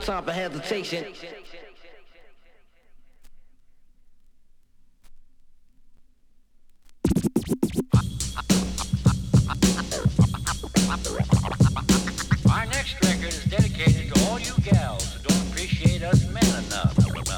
time for hesitation. Our next record is dedicated to all you gals who don't appreciate us men enough.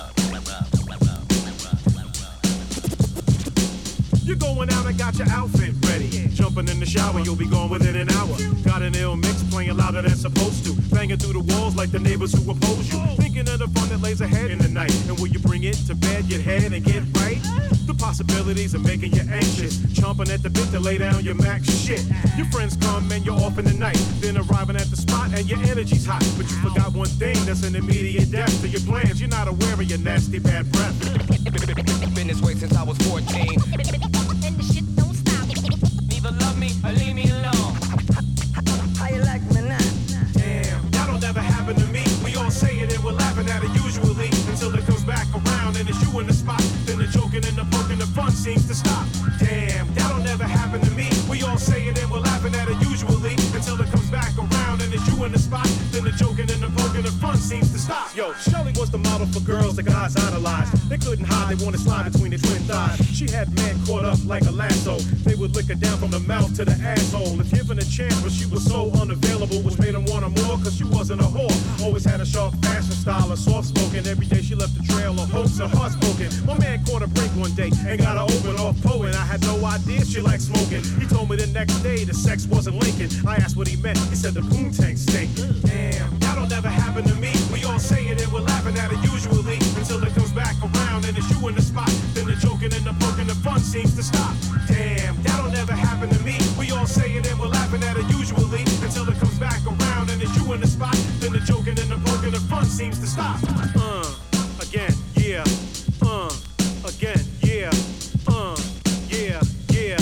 You're going out and got your outfit ready. Jumping in the shower, you'll be gone within an hour. Got an ill mix playing louder than supposed to. Banging through the walls like the neighbors who oppose you. Thinking of the fun that lays ahead in the night. And will you bring it to bed, get head, and get right? The possibilities are making you anxious. Chomping at the bit to lay down your max shit. Your friends come and you're off in the night. Then arriving at the spot and your energy's hot. But you forgot one thing that's an immediate death to your plans. You're not aware of your nasty bad breath. Been this way since I was 14. And the shit don't stop. Either love me or leave me alone. How you like me now? Damn, that don't never happen to me. We all say it and we're laughing at it usually. Until it comes back around and it's you in the spot. Then the joking and the poking, the fun seems to stop. Damn, that don't never happen to me. We all say it and we're laughing at it usually. Until it comes back around and it's you in the spot. Then the joking and the poking, the fun seems to stop. Yo, Shelley was the model for girls that guys idolized. They couldn't hide, they wanted to slide between the twin thighs. She had men caught up like a lasso. They would lick her down from the mouth to the asshole. If given a chance, but she was so unavailable, which made them want her more, cause she wasn't a whore. Always had a sharp fashion style, a soft spoken. Every day she left a trail of hopes and heart spoken. My man caught a break one day and got her open off poet. I had no idea she liked smoking. He told me the next day the sex wasn't linking. I asked what he meant, he said the boom tank stink. Damn, that'll never happen to me. We all say it and we're laughing at it usually. Until it comes back around and it's you in the spot. Then the joking and the poking, the fun seems to stop. Damn, that'll never happen to me. We all say it and we're laughing at it usually. Until it comes back around and it's you in the spot. Then the joking and the poking, the fun seems to stop. Again, yeah. Again, yeah. Yeah, yeah.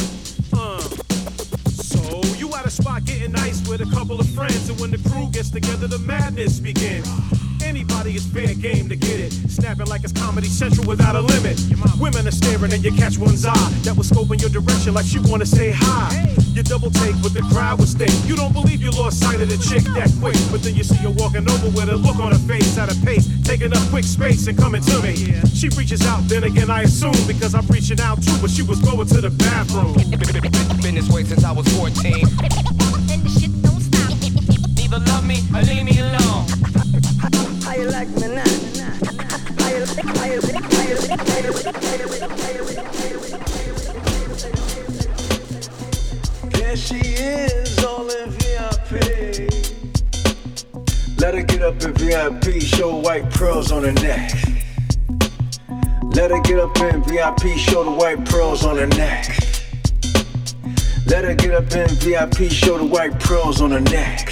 So you at a spot getting nice with a couple of friends, and when the crew gets together, the madness begins. Anybody is fair game to get it. Snapping like it's Comedy Central without a limit. Women are staring and you catch one's eye that was scoping your direction like she wanna say hi. You double take what the crowd would think. You don't believe you lost sight of the chick that quick, but then you see her walking over with a look on her face at a pace, taking up quick space and coming to me. She reaches out, then again I assume because I'm reaching out too, but she was going to the bathroom. Been this way since I was 14. And the shit don't stop. Either love me or leave me alone. How you like me now? There she is, all in VIP. Let her get up in VIP, show white pearls on her neck. Let her get up in VIP, show the white pearls on her neck. Let her get up in VIP, show the white pearls on her neck.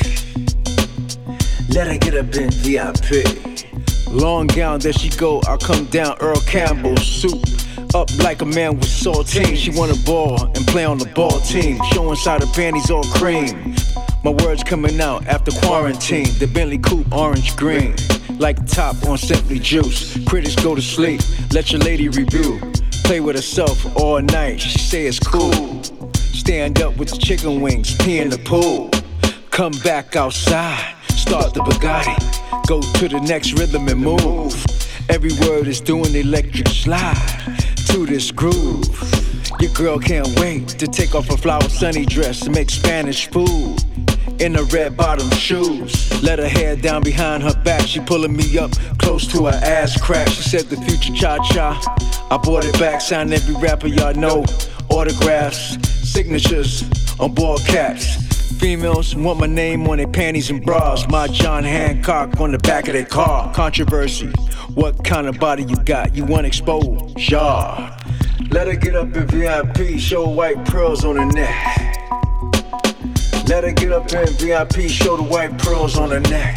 Let her get up in VIP. Long gown, there she go, I'll come down, Earl Campbell soup. Up like a man with saltine. She wanna ball and play on the ball team. Show inside her panties all cream. My words coming out after quarantine. The Bentley coupe orange green, like top on Simply Juice. Critics go to sleep, let your lady review. Play with herself all night, she say it's cool. Stand up with the chicken wings, pee in the pool. Come back outside, start the Bugatti. Go to the next rhythm and move. Every word is doing the electric slide to this groove. Your girl can't wait to take off her flower sunny dress and make Spanish food in her red bottom shoes. Let her hair down behind her back. She pulling me up close to her ass crack. She said the future cha-cha. I bought it back, signed every rapper y'all know. Autographs, signatures on ball caps. Females want my name on their panties and bras. My John Hancock on the back of their car. Controversy, what kind of body you got? You want exposure? Yeah. Let her get up in VIP, show white pearls on her neck. Let her get up in VIP, show the white pearls on her neck.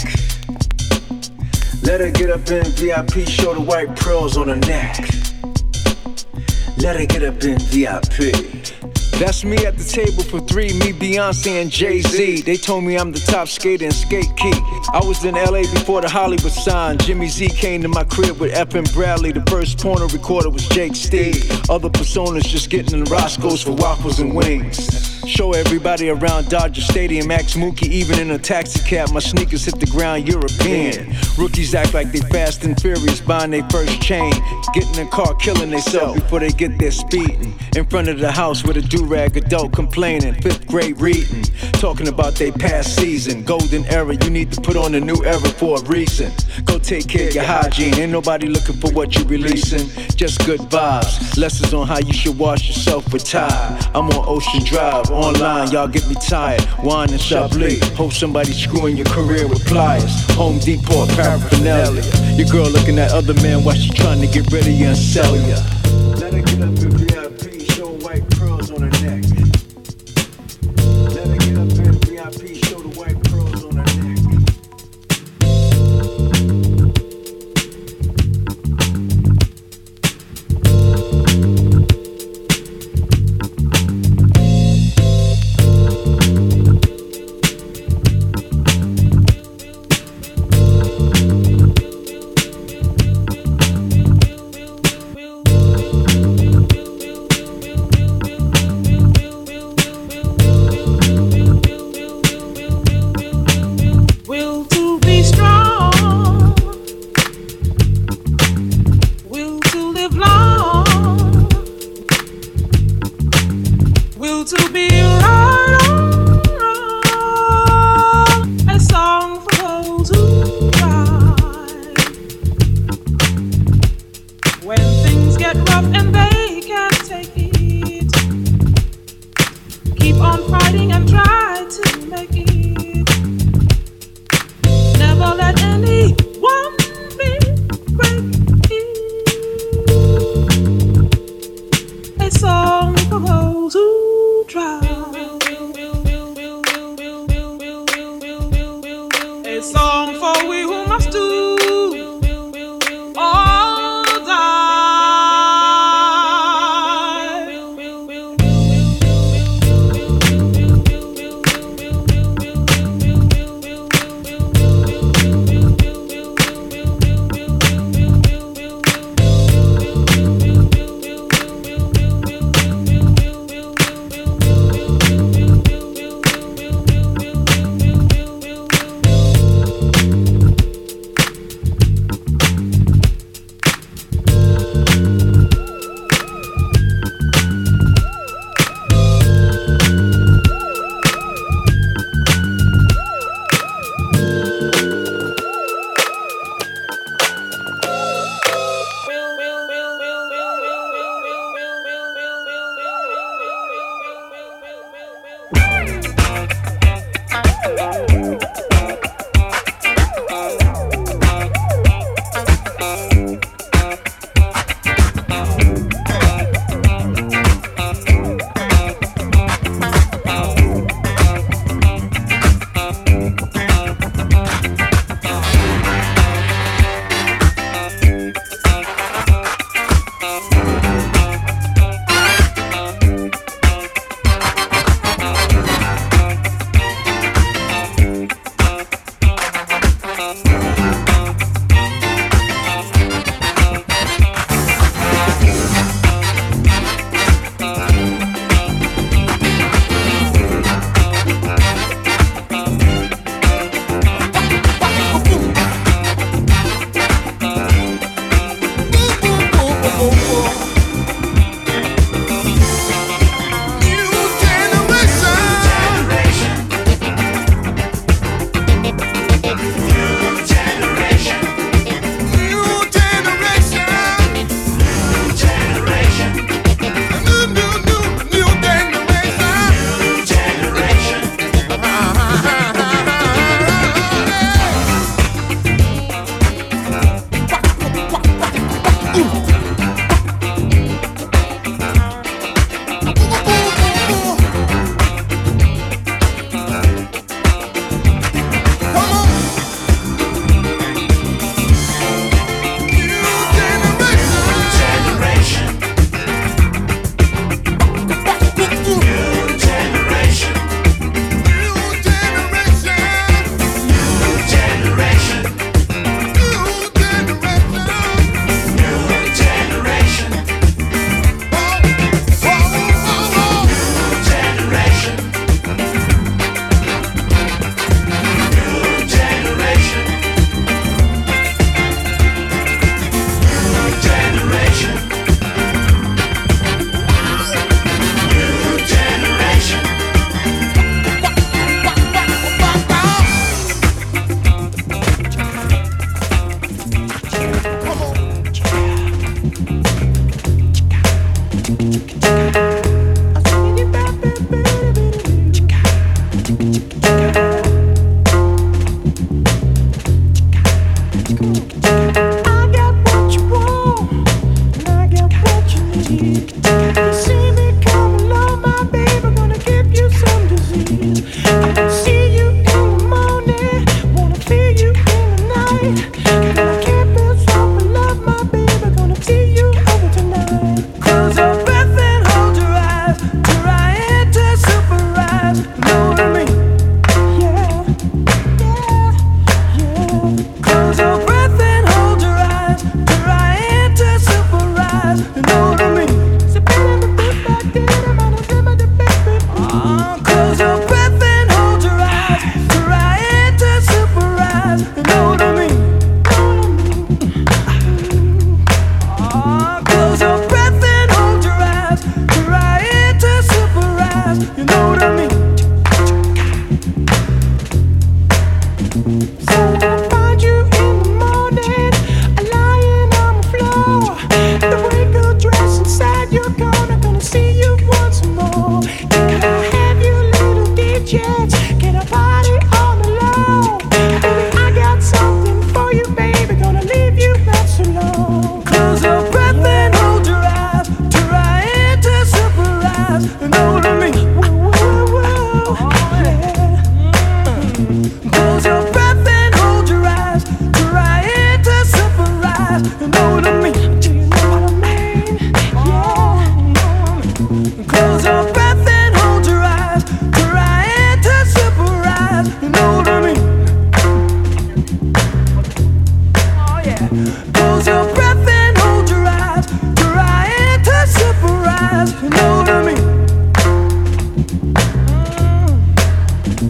Let her get up in VIP, show the white pearls on her neck. Let her get up in VIP. That's me at the table for three, me, Beyonce, and Jay-Z. They told me I'm the top skater in Skate Key. I was in LA before the Hollywood sign. Jimmy Z came to my crib with F. and Bradley. The first porno recorder was Jake Steve. Other personas just getting in Roscoe's for waffles and wings. Show everybody around Dodger Stadium, ask Mookie even in a taxi cab. My sneakers hit the ground European. Rookies act like they fast and furious, buying their first chain. Getting in the car, killing themselves before they get there speeding. In front of the house with a do-rag adult complaining. 5th grade reading, talking about their past season. Golden era, you need to put on a new era for a reason. Go take care of your hygiene, ain't nobody looking for what you releasing. Just good vibes, lessons on how you should wash yourself with Tide. I'm on Ocean Drive, online, y'all get me tired. Wine and Chablis, hope somebody's screwing your career with pliers. Home Depot paraphernalia. Your girl looking at other men while she trying to get rid of you and sell ya. Let her get up in VIP, show white pearls on her neck. Let her get up in VIP, show the white pearls on her neck. chance. Get a party on the low. Baby, I got something for you, baby. Gonna leave you not so long. Close your breath and hold your eyes. Try to surprise and hold me. Close your breath and hold your eyes. Try to surprise and hold me. Do you know what I mean? Yeah. Close your breath and hold your eyes. Try to surprise and hold me. Oh yeah. Close your breath and hold your eyes. Try to surprise and hold me.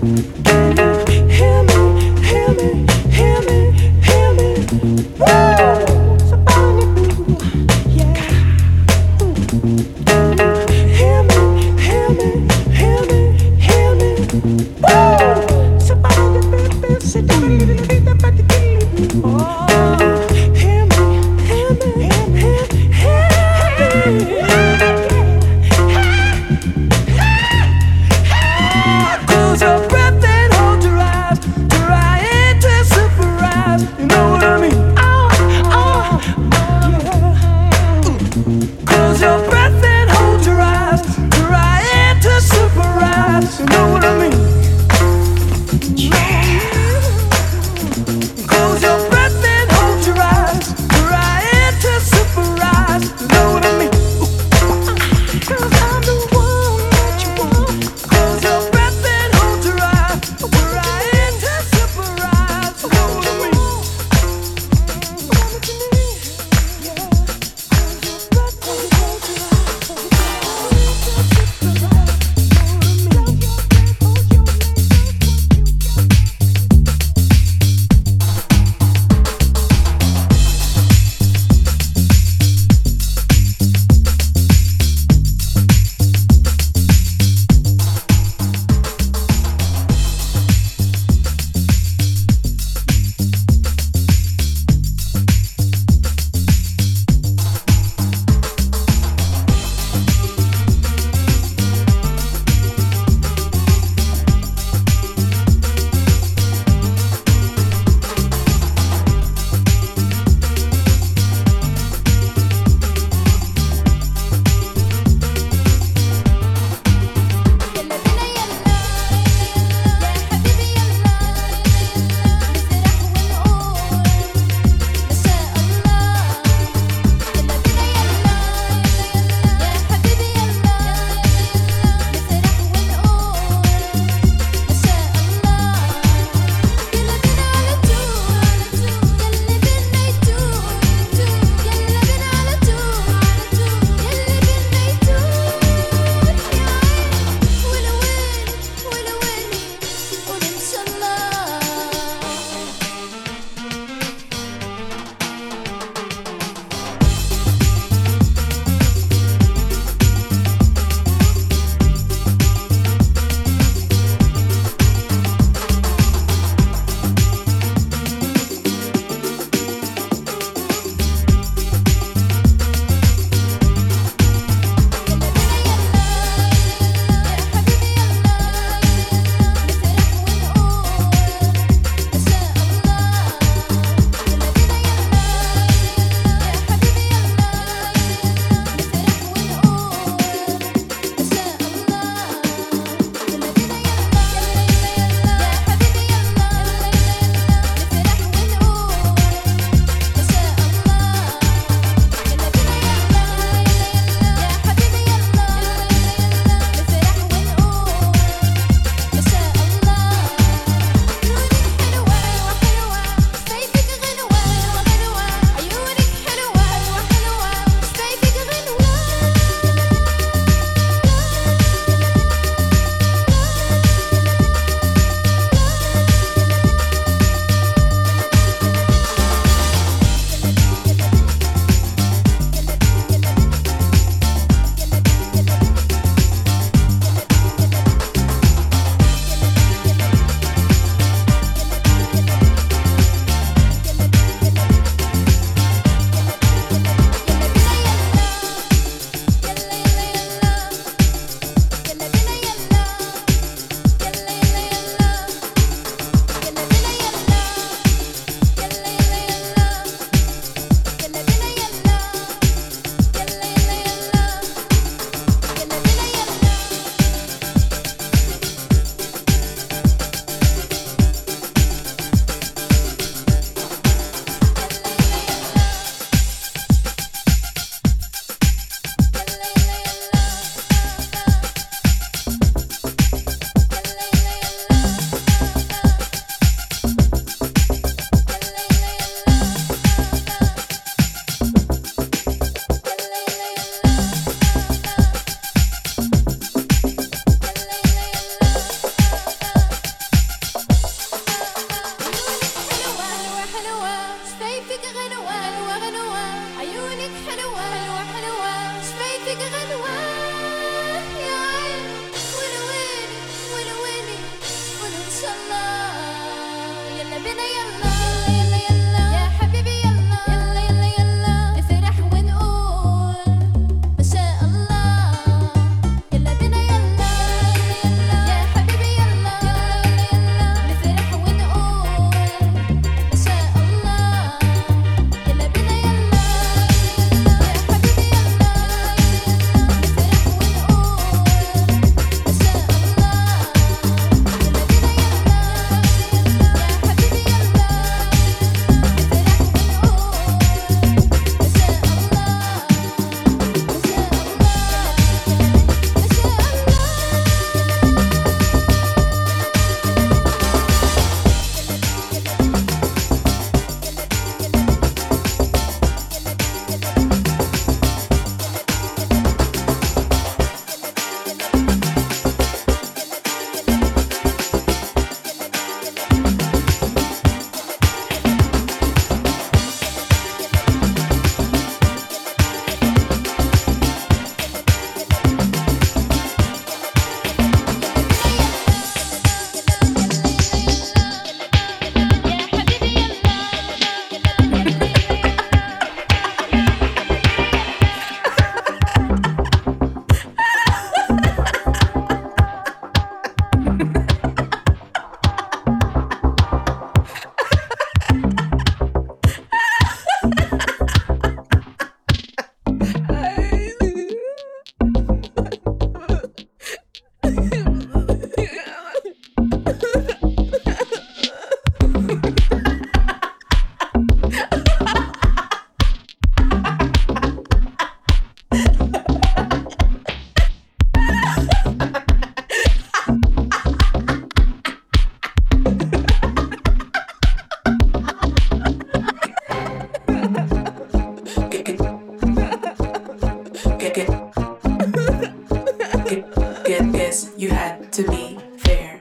guess you had to be fair.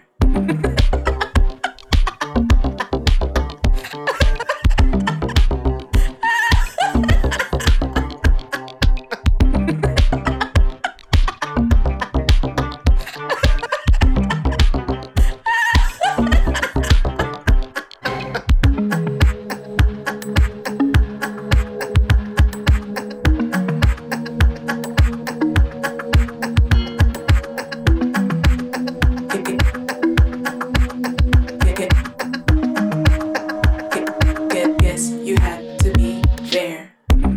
Guess you had to be fair.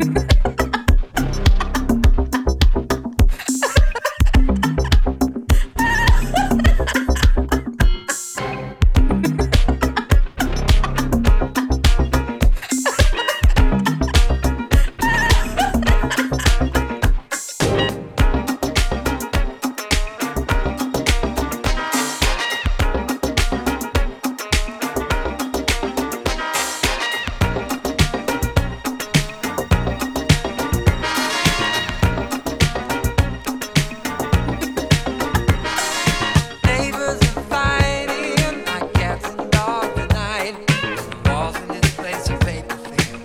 Neighbors are fighting like cats and dogs tonight. The walls in this place are paper thin.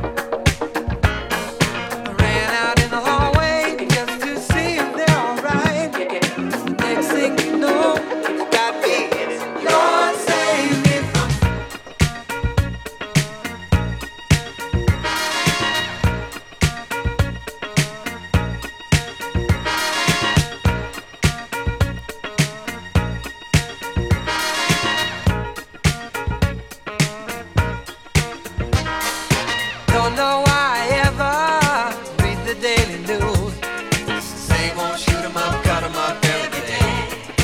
I ran out in the hallway just to see if they're alright. Next thing you know, you got me in it. Lord save me from. Don't know why I ever read the daily news. It's the same old shoot 'em up, cut 'em up every day.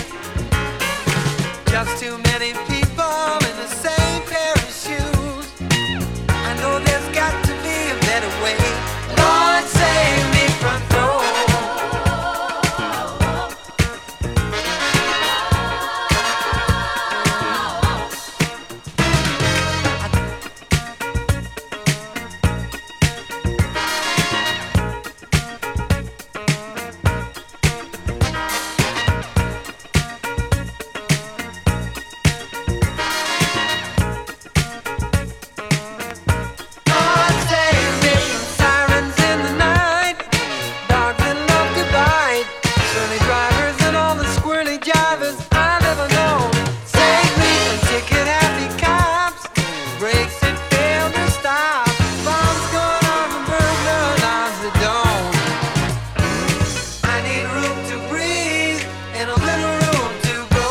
Just too many people in the same pair of shoes. I know there's got to be a better way. Lord save me from throwing. Lord save me from sirens in the night, dogs that love to bite, surly drivers and all the squirrely jivers I never know. Save me from ticket-happy cops, brakes that fail to stop, bombs going off and burglar alarms that don't. I need room to breathe and a little room to go.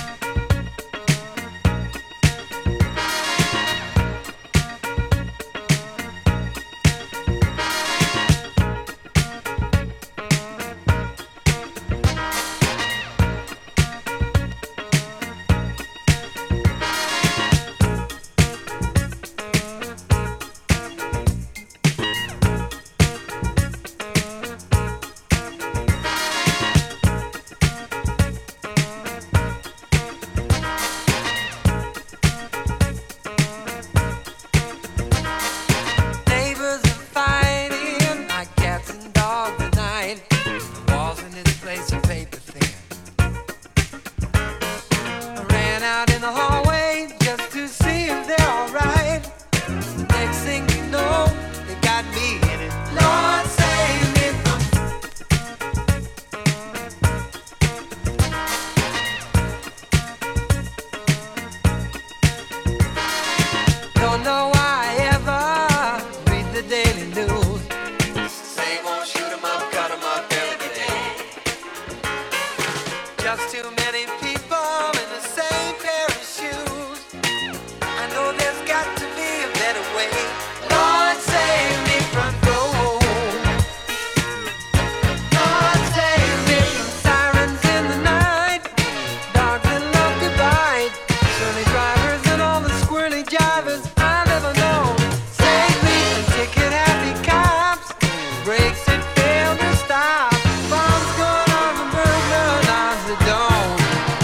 Neighbors are fighting like cats and dogs tonight. The walls in this place are paper thin. I ran out in the hallway just to see if they're alright. Next thing you know, they got me in it. Lord save me from. Don't know why I ever read the daily news. Same old shoot 'em up, cut 'em up every day. Just too many people in the same pair of shoes. I know there's got to be a better way. Lord save me from gold. Lord save me from sirens in the night, dogs that love to bite, surly drivers and all the squirrely jivers I never know. Save me from ticket-happy cops, brakes that fail to stop, bombs going off and burglar alarms that don't.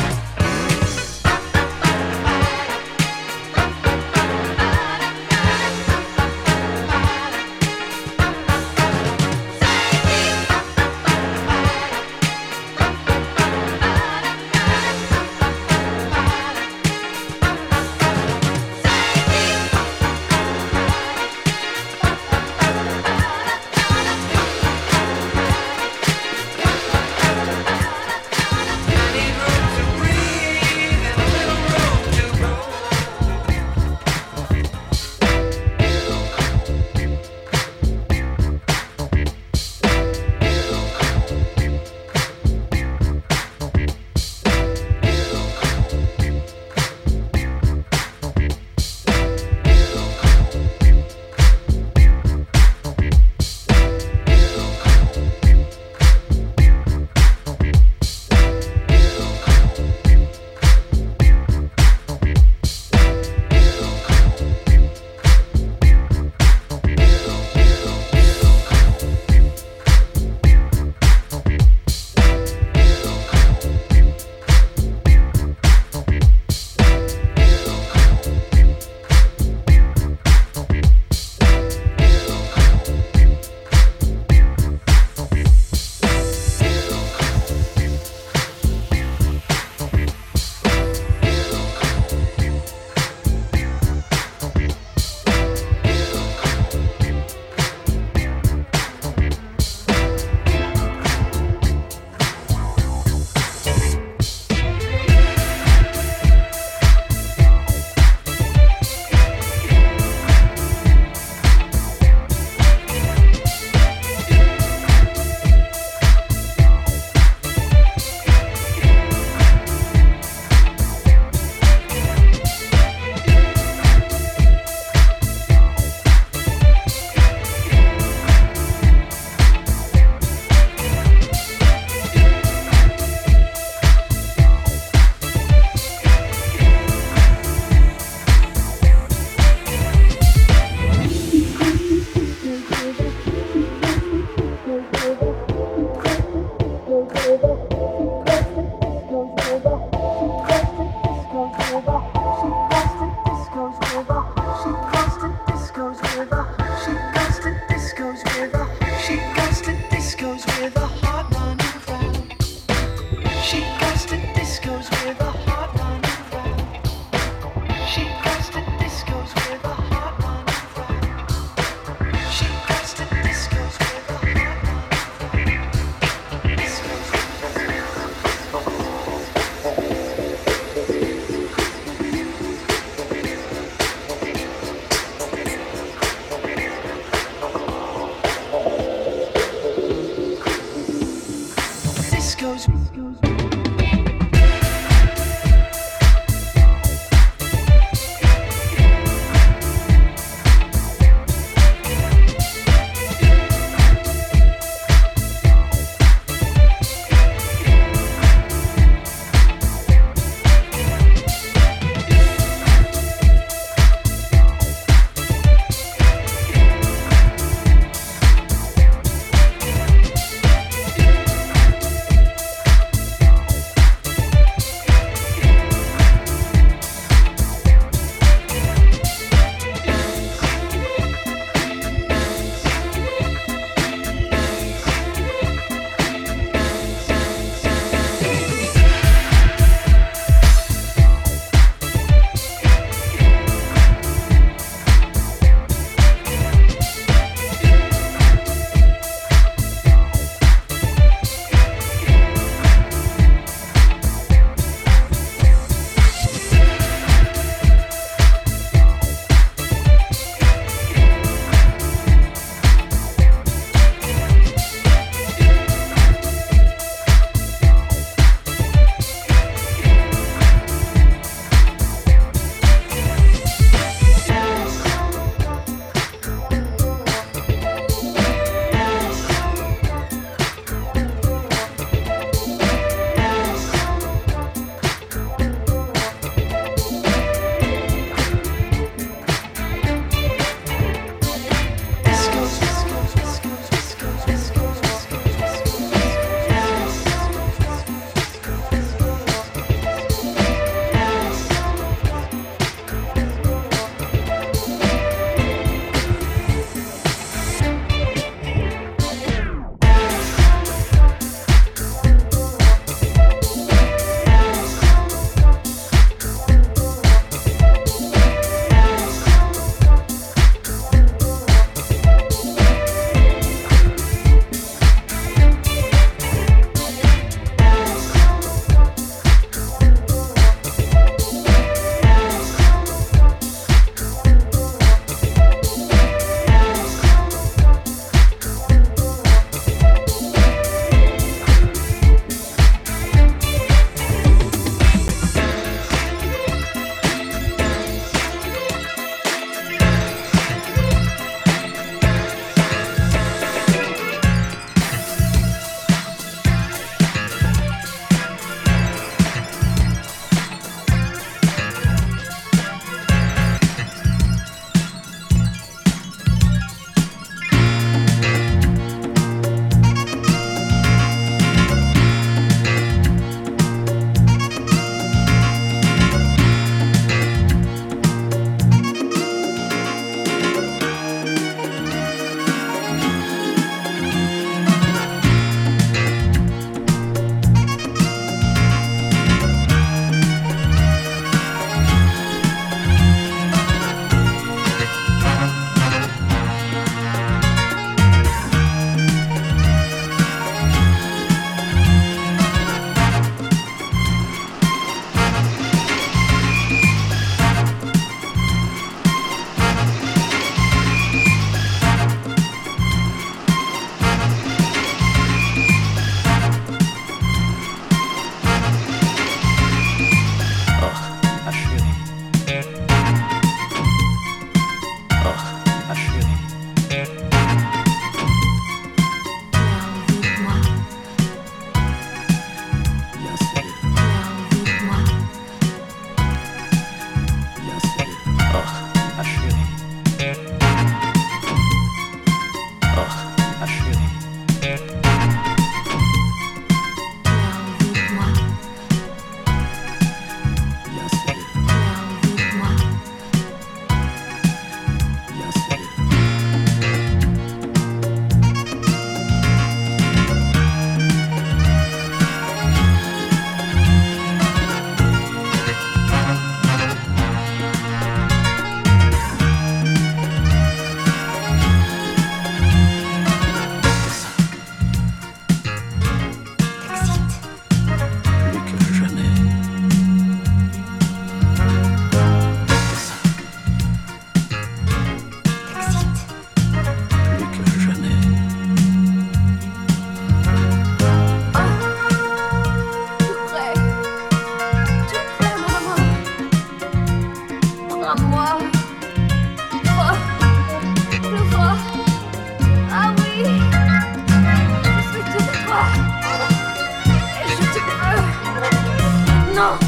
non.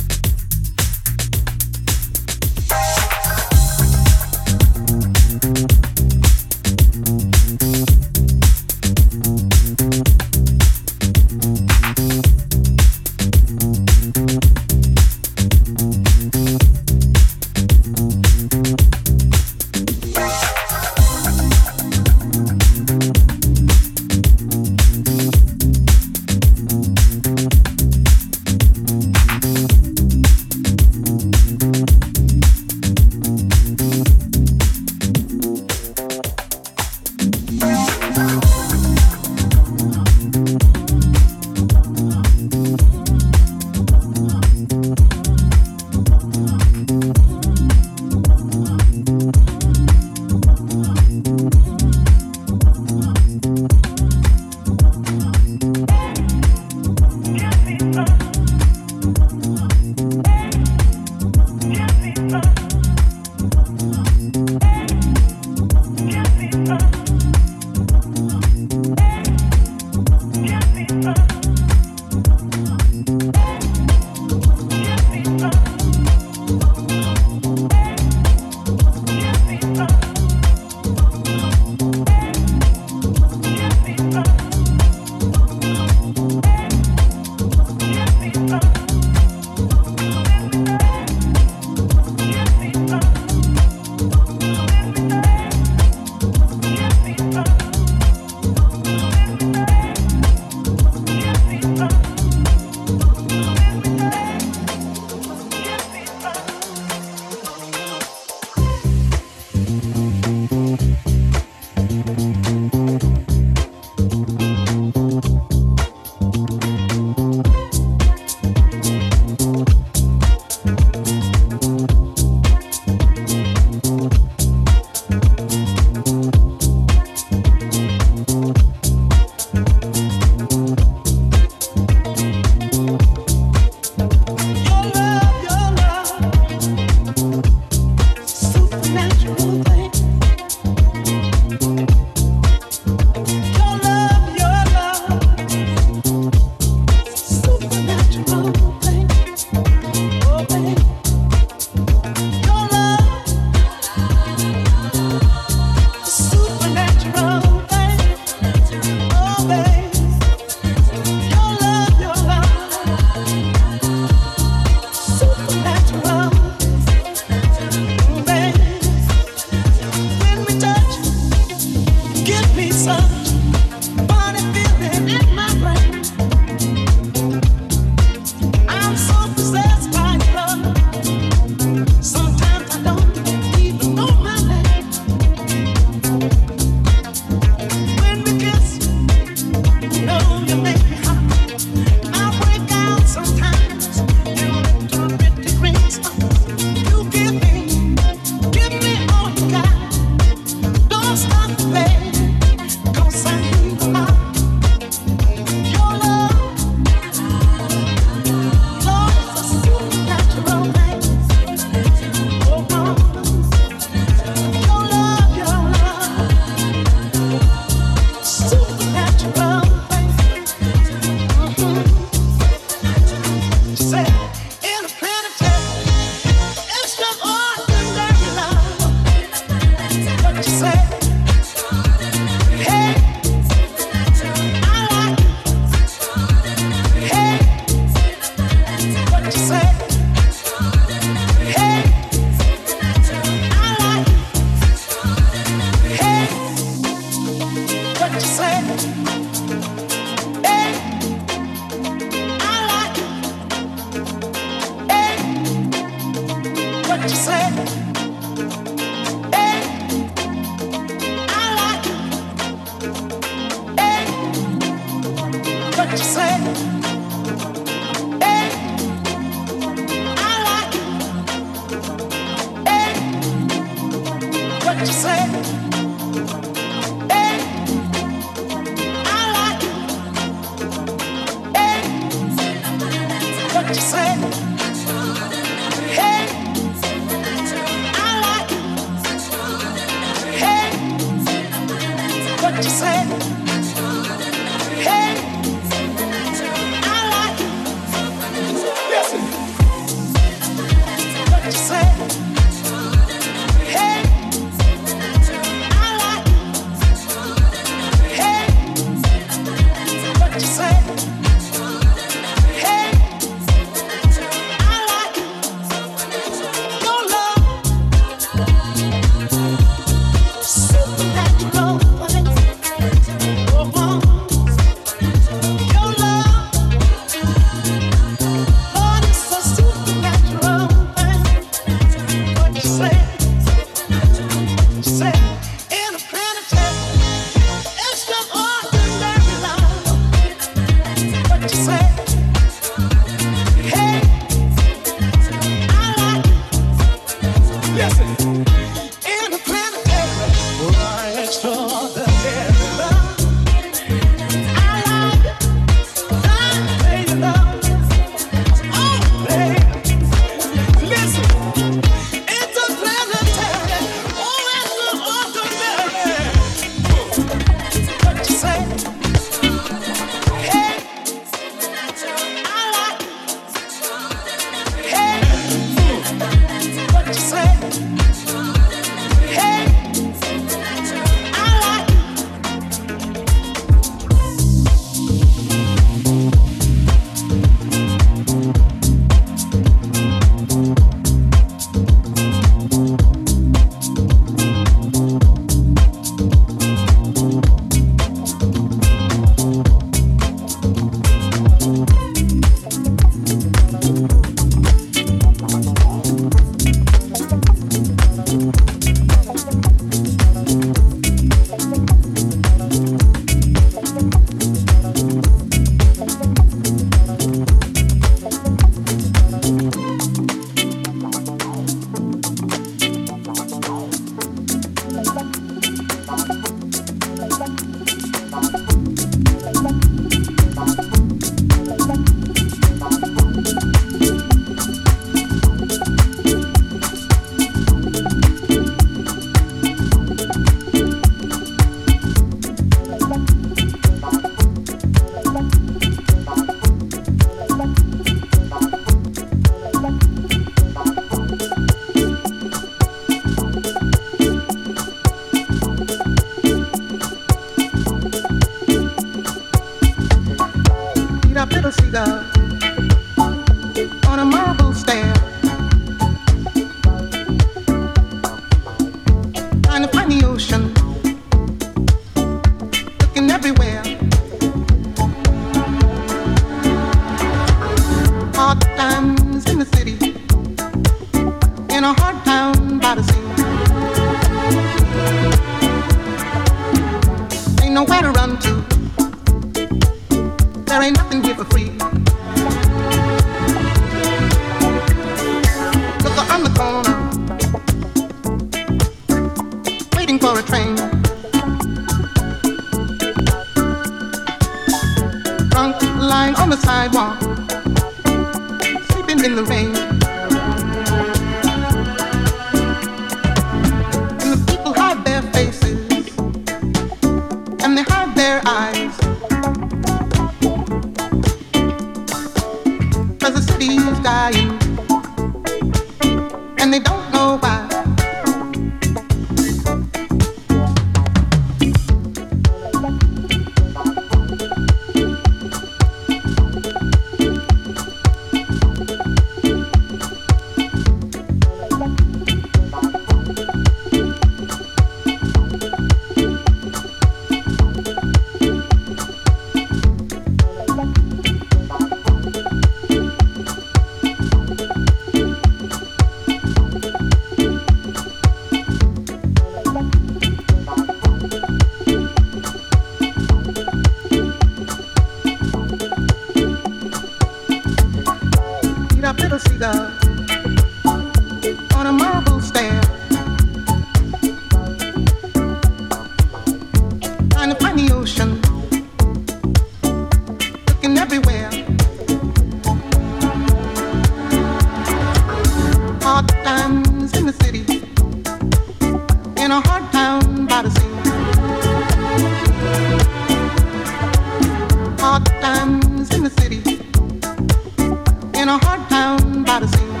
in a hard town by the sea.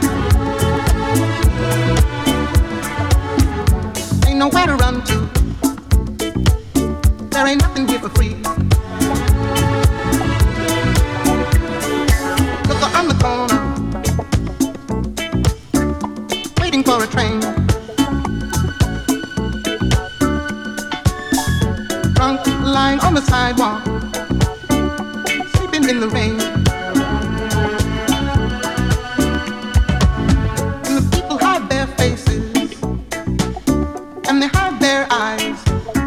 Ain't nowhere to run to. There ain't nothing here for free. Look on the corner, waiting for a train. Drunk, lying on the sidewalk, sleeping in the rain. And the people hide their faces, and they hide their eyes,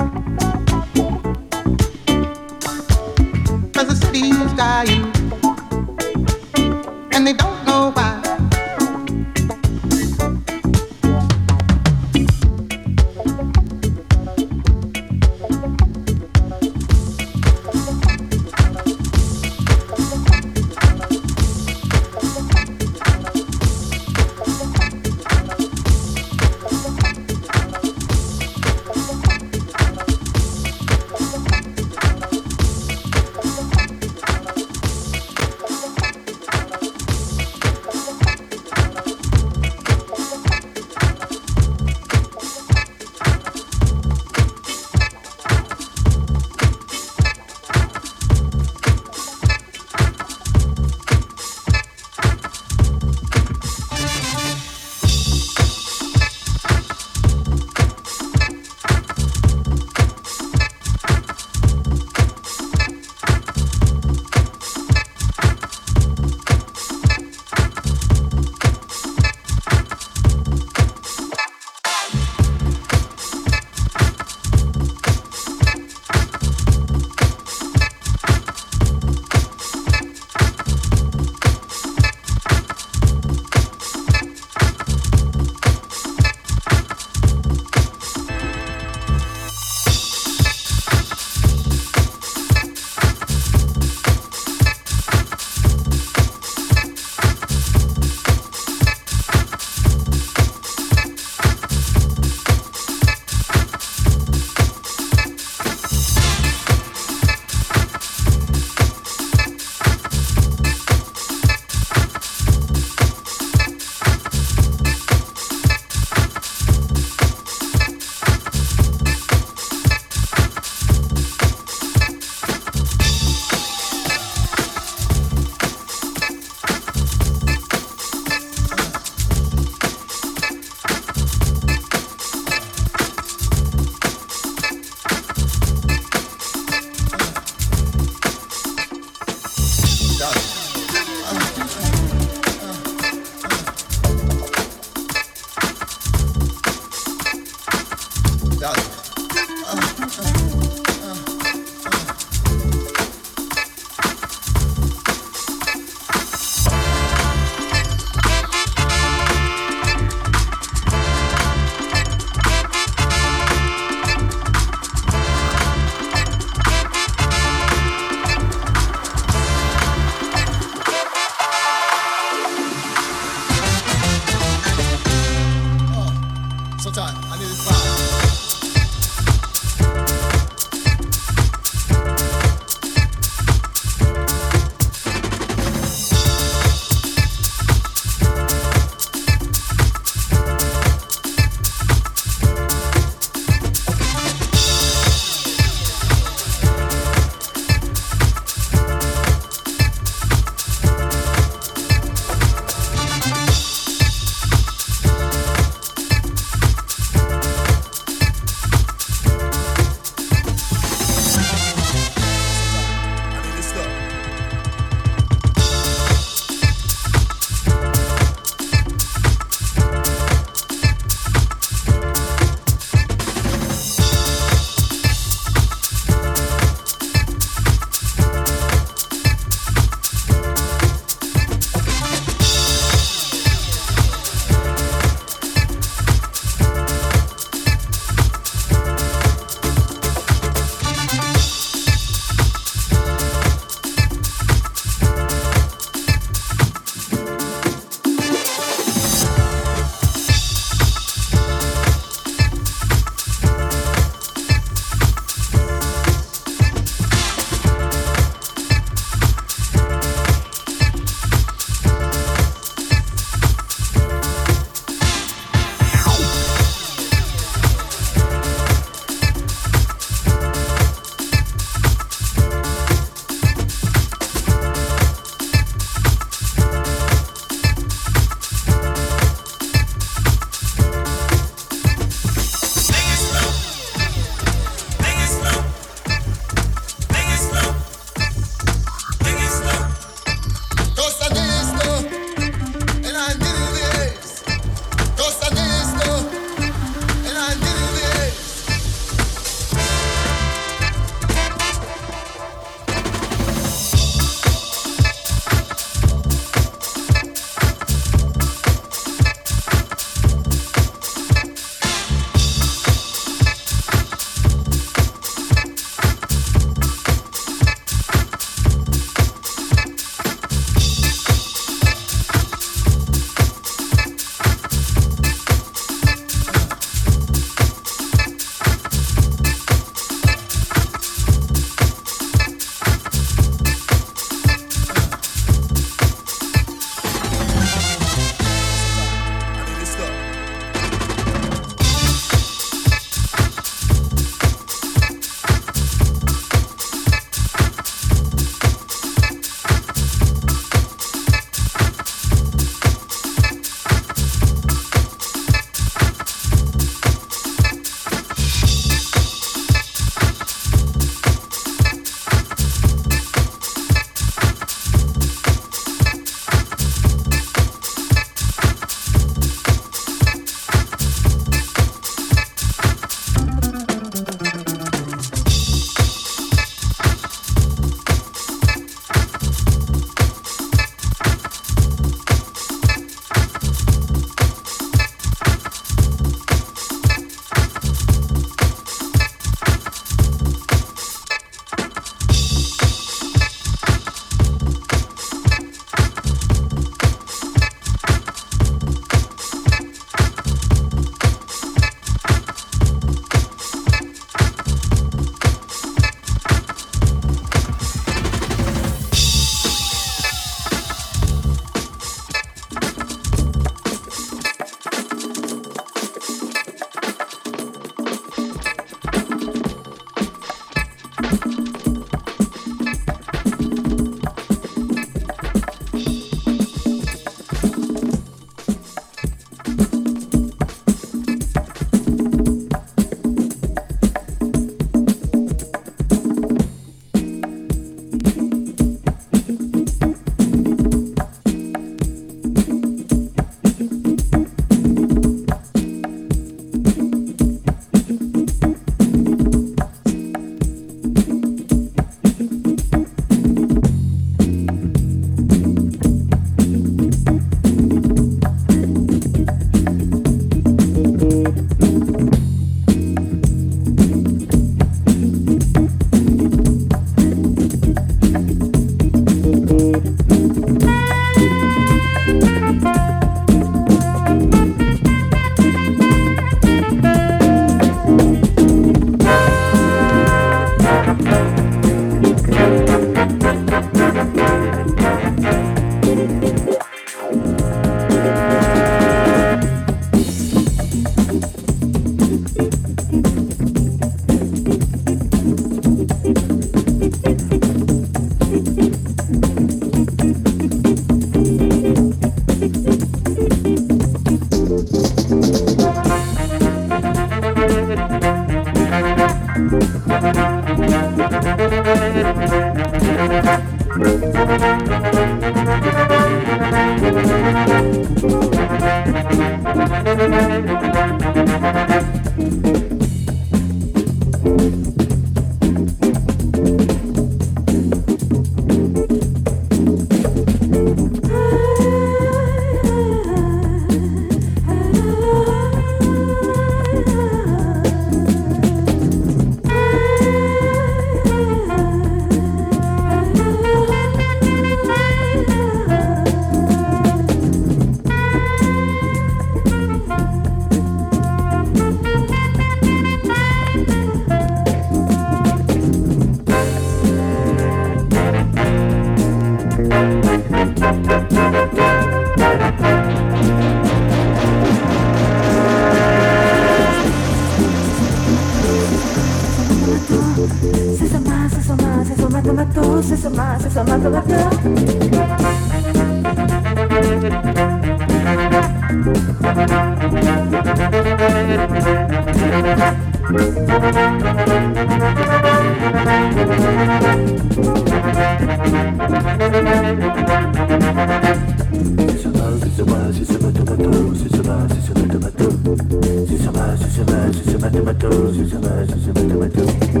'cause the city is dying, and they don't know why.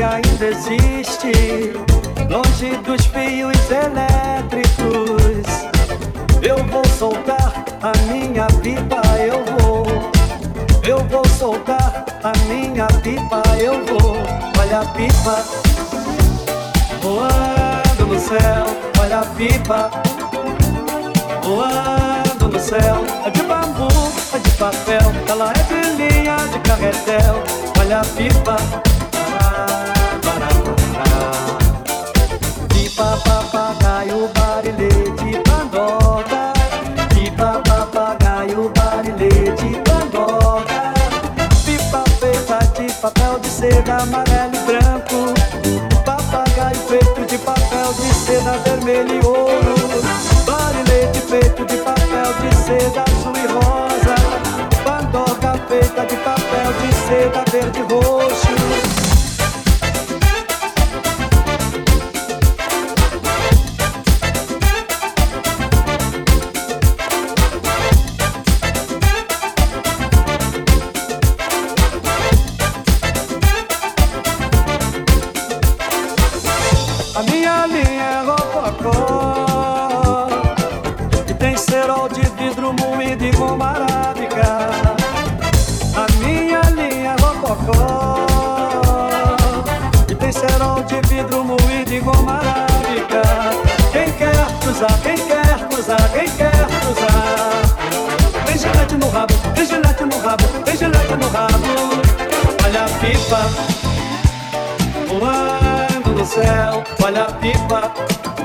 que ainda existe, longe dos fios elétricos. Eu vou soltar a minha pipa, eu vou soltar a minha pipa, eu vou. Olha a pipa voando no céu, olha a pipa voando no céu. É de bambu, é de papel, ela é de linha de carretel. Olha a pipa, pipa, papagaio, barilete, pandoga. Pipa, papagaio, barilete, pandoga. Pipa feita de papel de seda amarelo e branco. Papagaio feito de papel de seda vermelho e ouro. Barilete feito de papel de seda azul e rosa. Pandoga feita de papel de seda verde e roxo. A minha linha é rococó e tem cerol de vidro moído e goma arábica. A minha linha é rococó e tem cerol de vidro moído e goma arábica. Quem quer cruzar, quem quer cruzar, quem quer cruzar? Tem gilete no rabo, tem gilete no rabo, tem gilete no rabo. Olha a pipa voando no céu, olha a pipa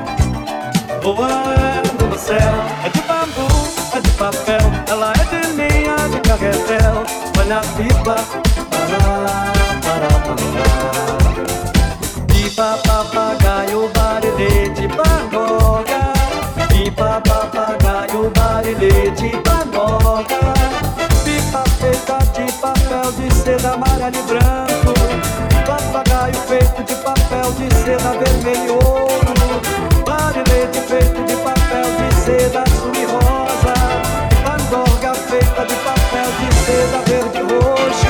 voando no céu. É de bambu, é de papel, ela é de linha de carretel. Olha a pipa, pará, pará, pará. Pipa, papagaio, barilete, pandoga. Pipa, papagaio, barilete, pandoga. Pipa feita de papel de seda amarelo e branco. Papagaio feito de papel de seda vermelho e ouro. Barilete feito de papel de seda azul e rosa. Pandorga feita de papel de seda verde e roxo.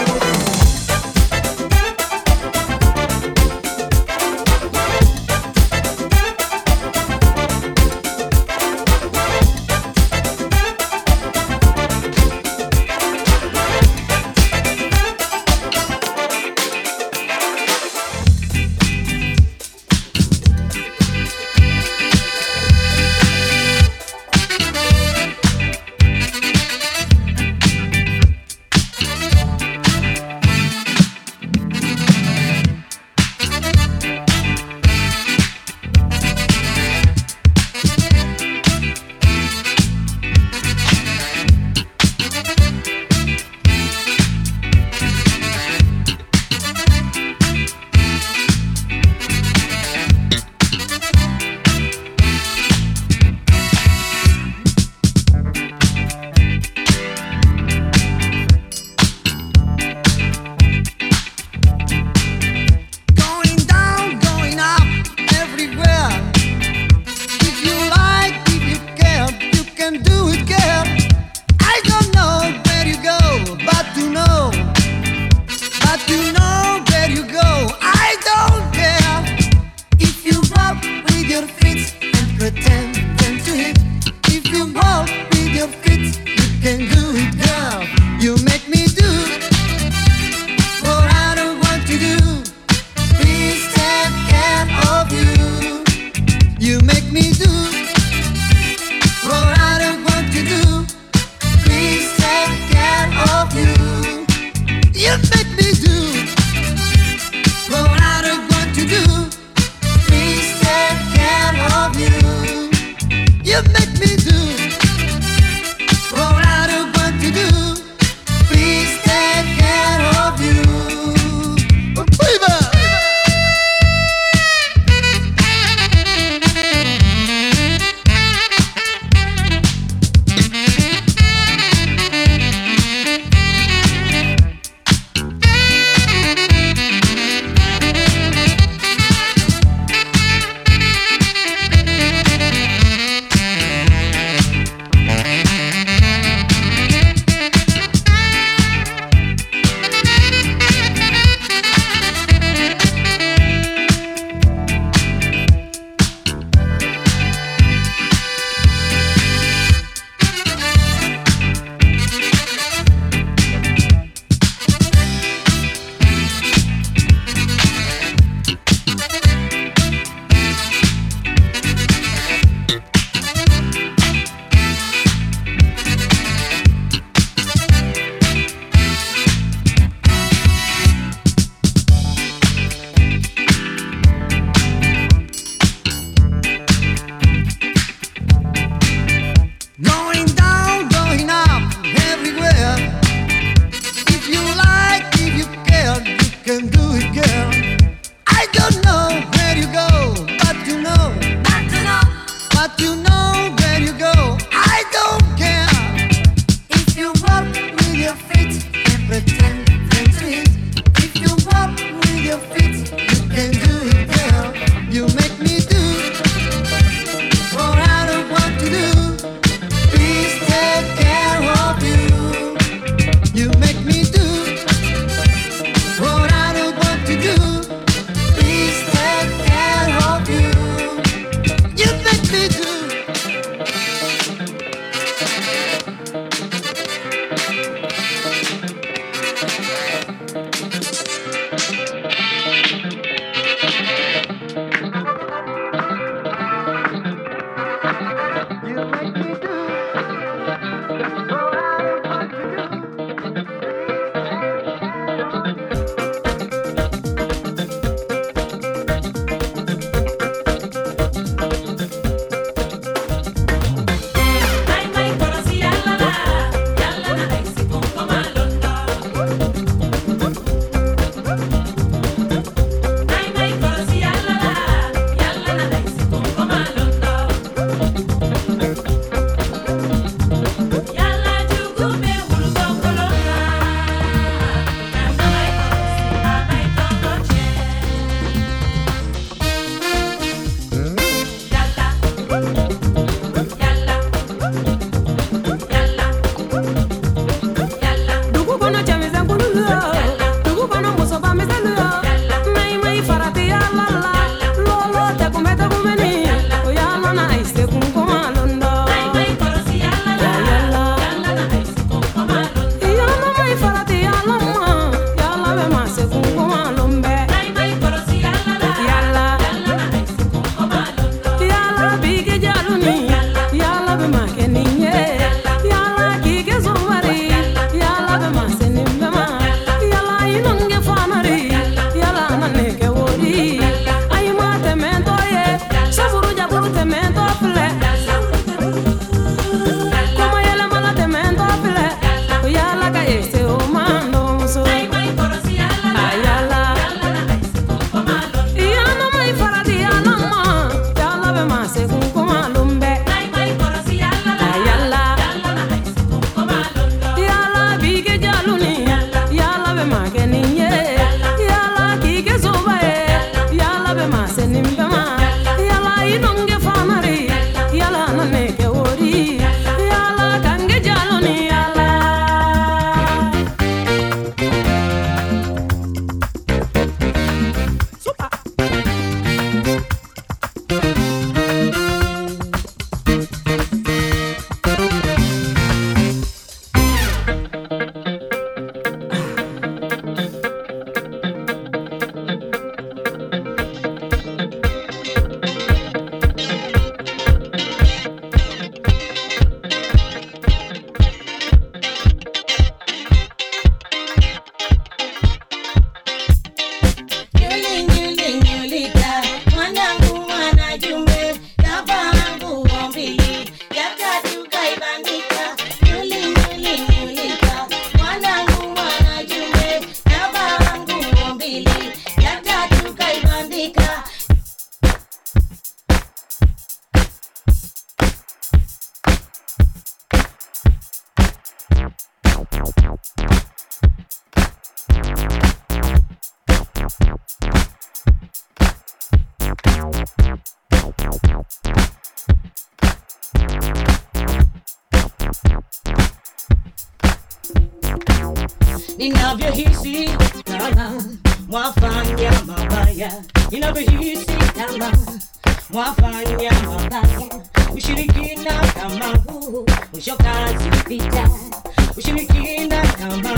ninavyohisi kama mwafanya mabaya, ninavyohisi kama mwafanya mabaya, ushirikina kama huu mwisho kazi pita, ushirikina kama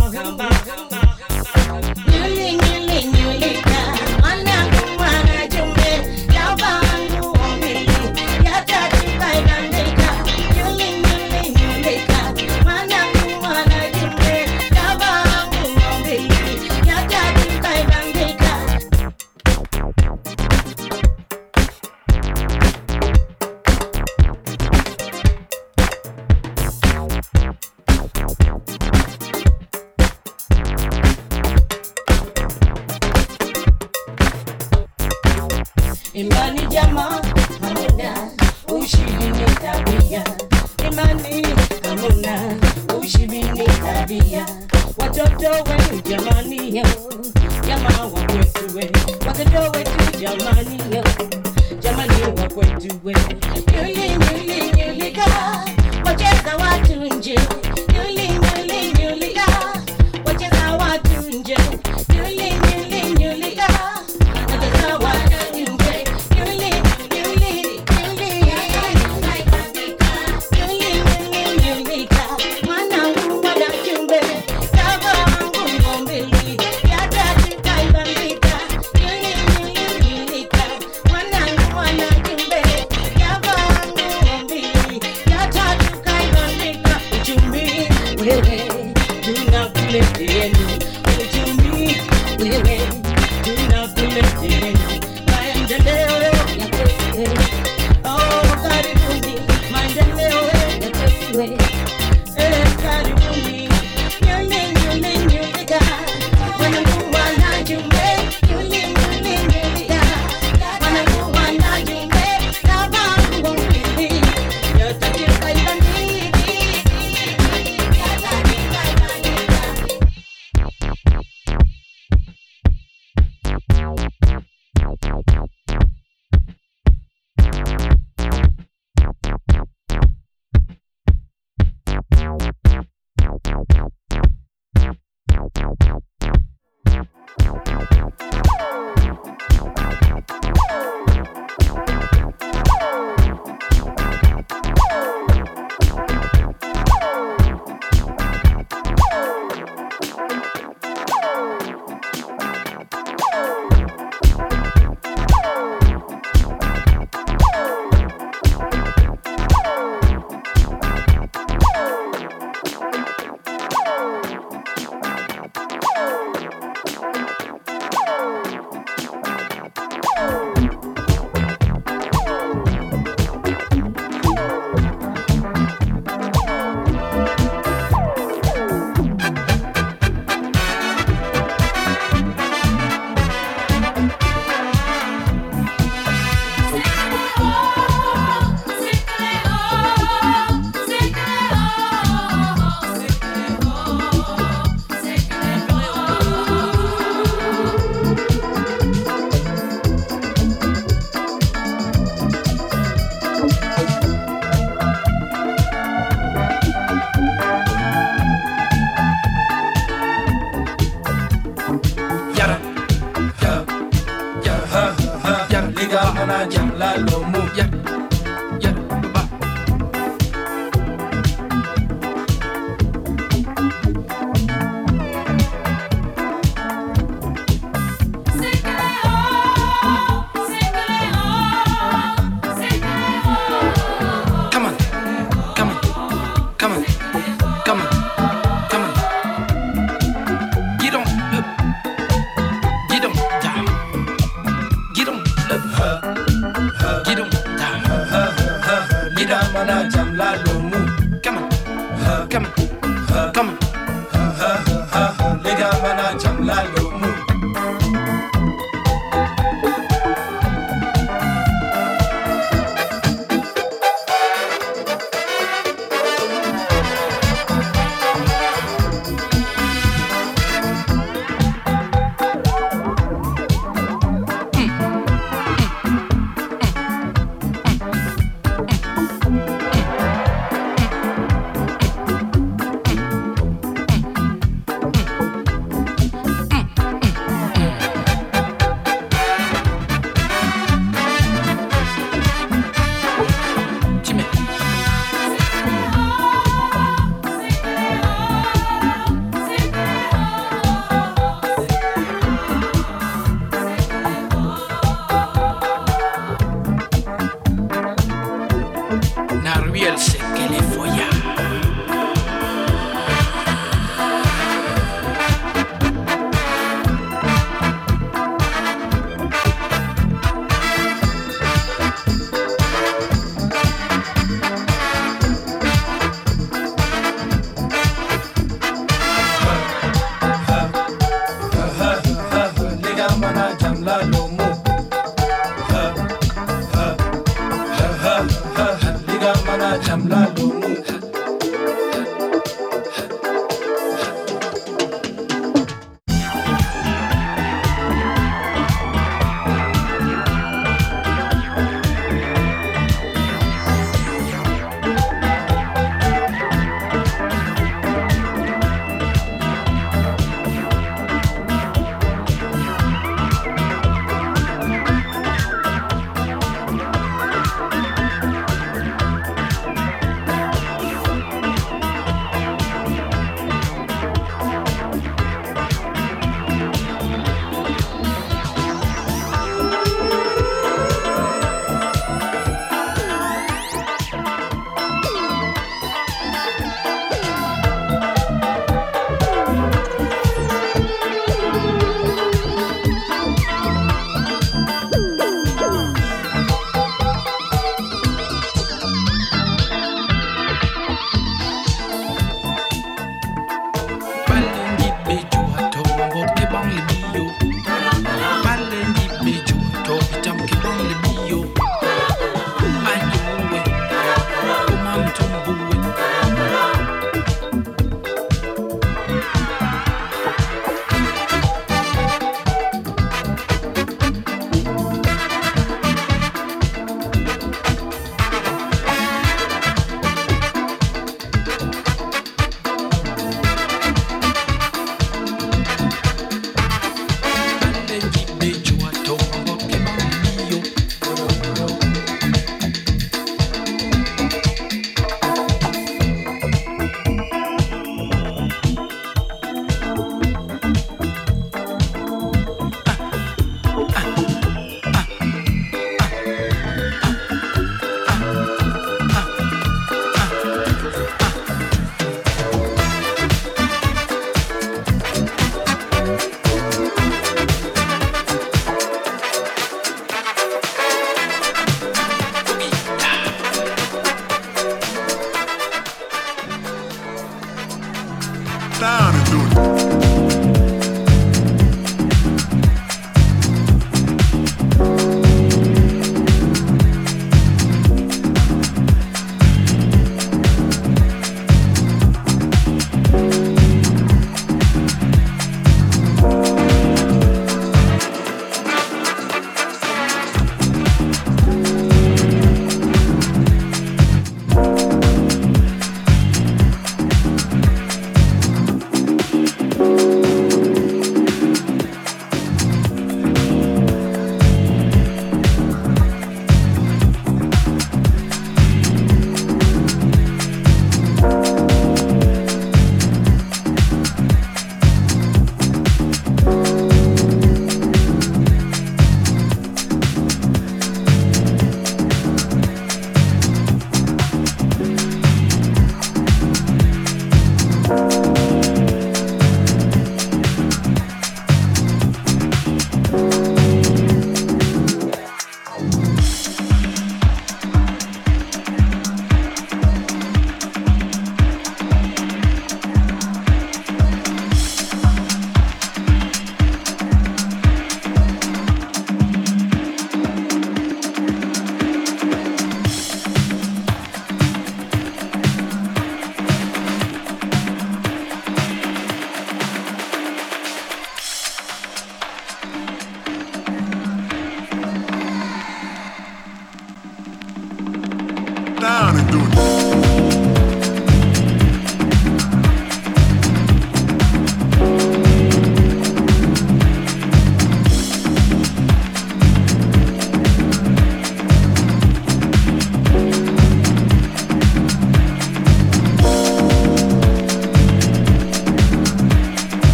nyulika mwanangu mwanajumbe yabangu omili yatatukaibandika nyulika mwanangu mwanajumbe yabangu omili yatatukaibandika. Imani jamaa hamuna ushibini tabia, imani hamuna ushibini tabia, watoto wetu jamani yo, jamaa wa kwetu we, watoto wetu jamani yo, jamani wa kwetu we, nyulika, wacheza watu nje, nyulika, wacheza watu nje, nyulika, wacheza watu nje.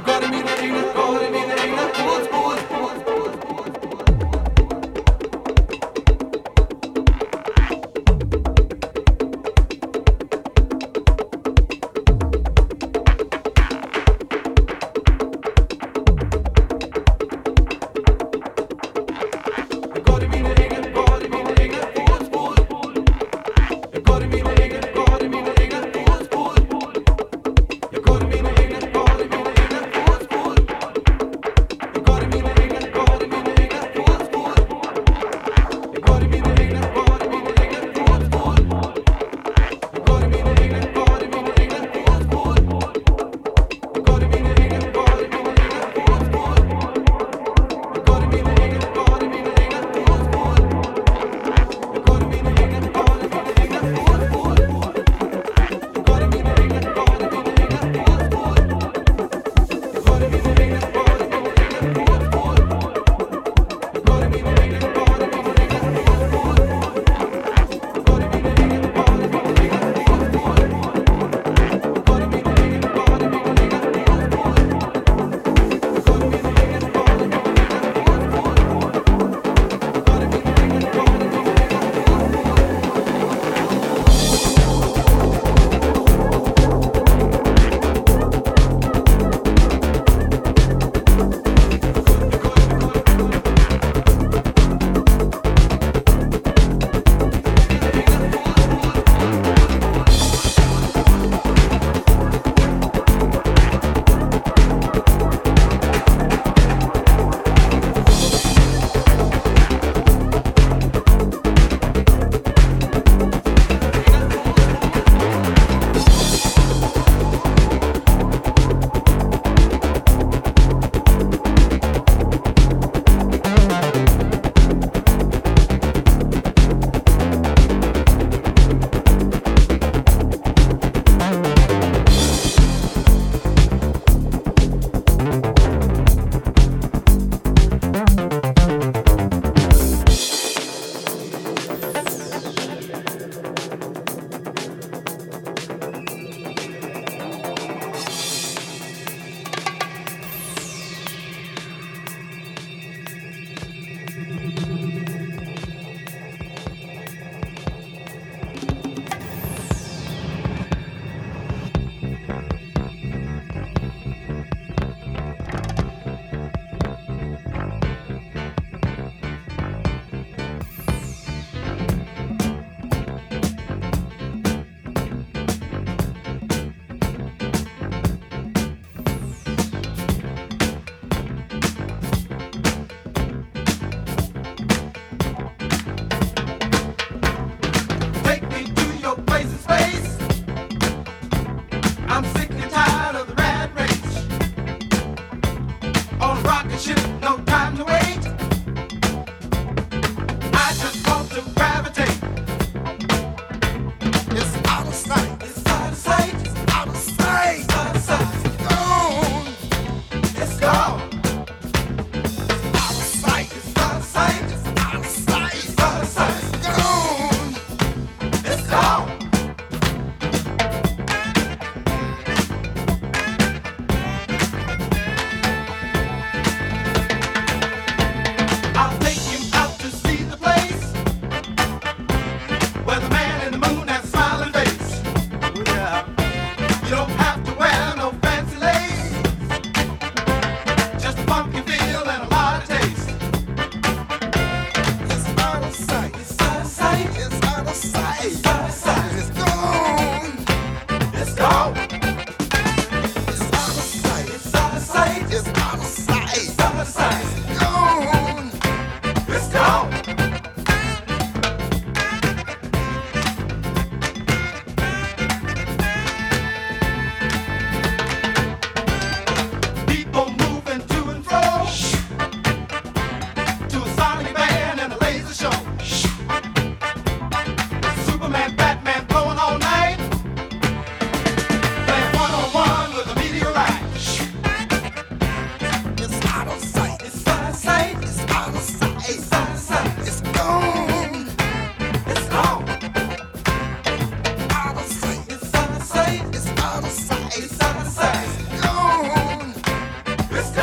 Got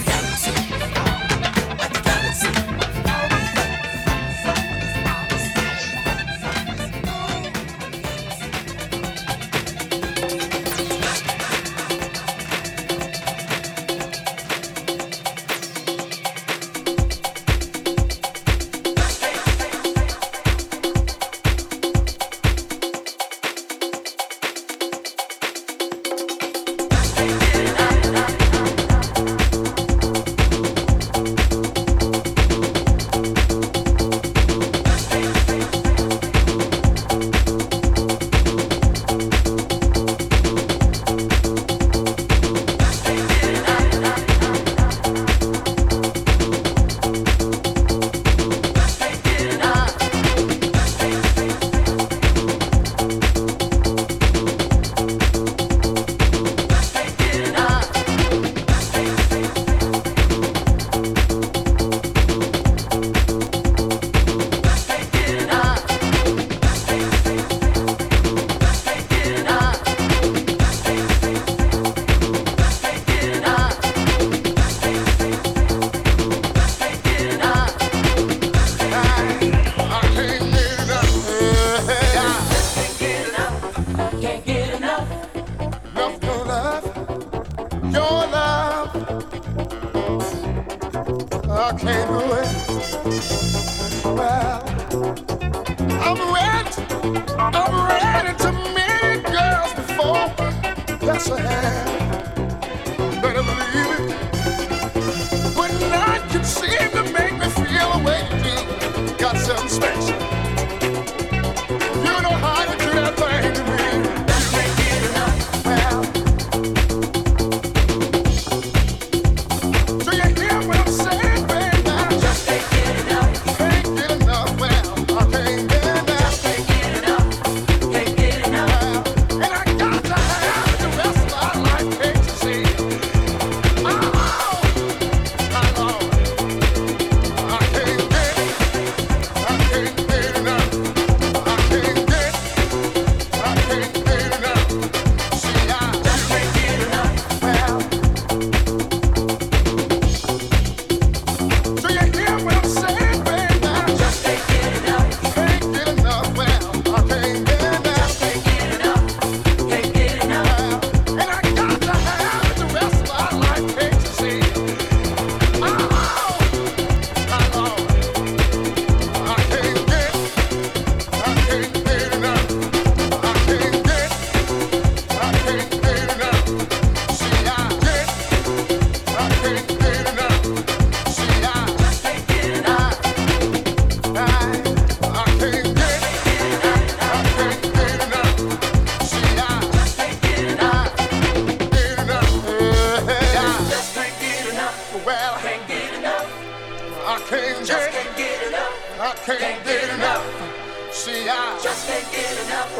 I can't do it. Well, I'm ready to meet girls before. Yes, I have. Better believe it. But night can seem to make me feel the way you do. Got something special. You know how to do that thing to me. Like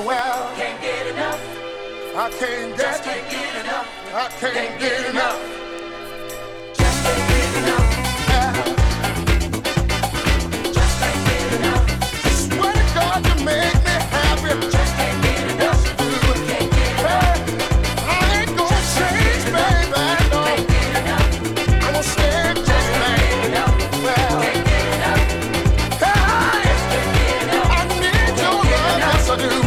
well. Can't get enough. I can't Just get, can't get enough. I can't get enough. Just can't get enough. Just can't get enough. Swear to God, you make me happy. Just can't get enough. Can't get enough. I ain't gonna change, baby. No, Can't get enough. I'm gonna stay just Can't get enough. well. Can't get enough. Hey, Can't get enough. I need your love, yes I do.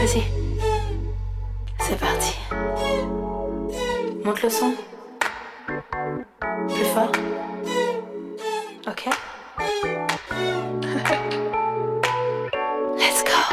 Vas-y. C'est parti. Monte le son. Plus fort. Ok. Let's go.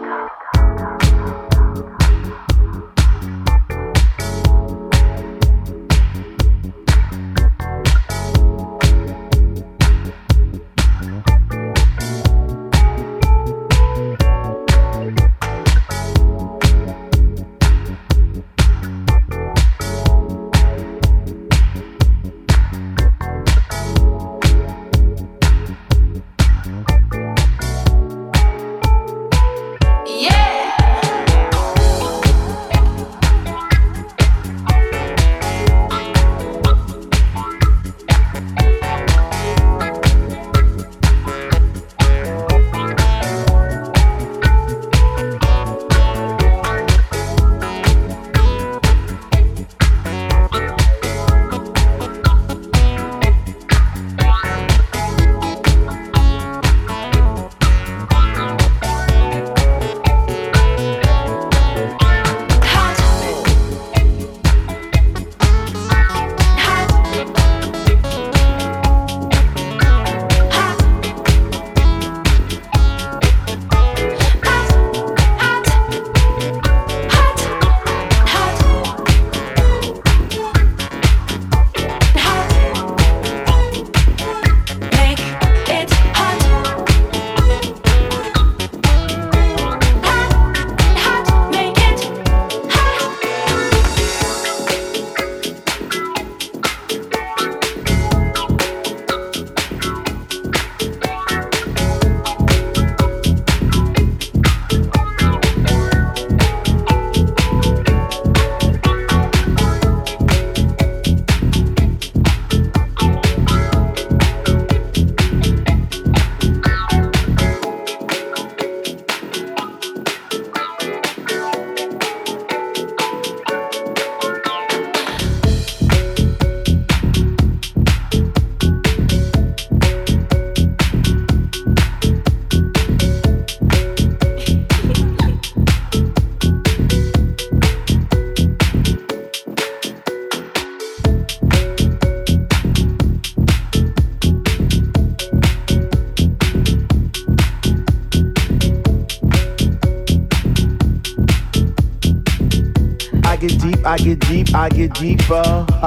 I get deeper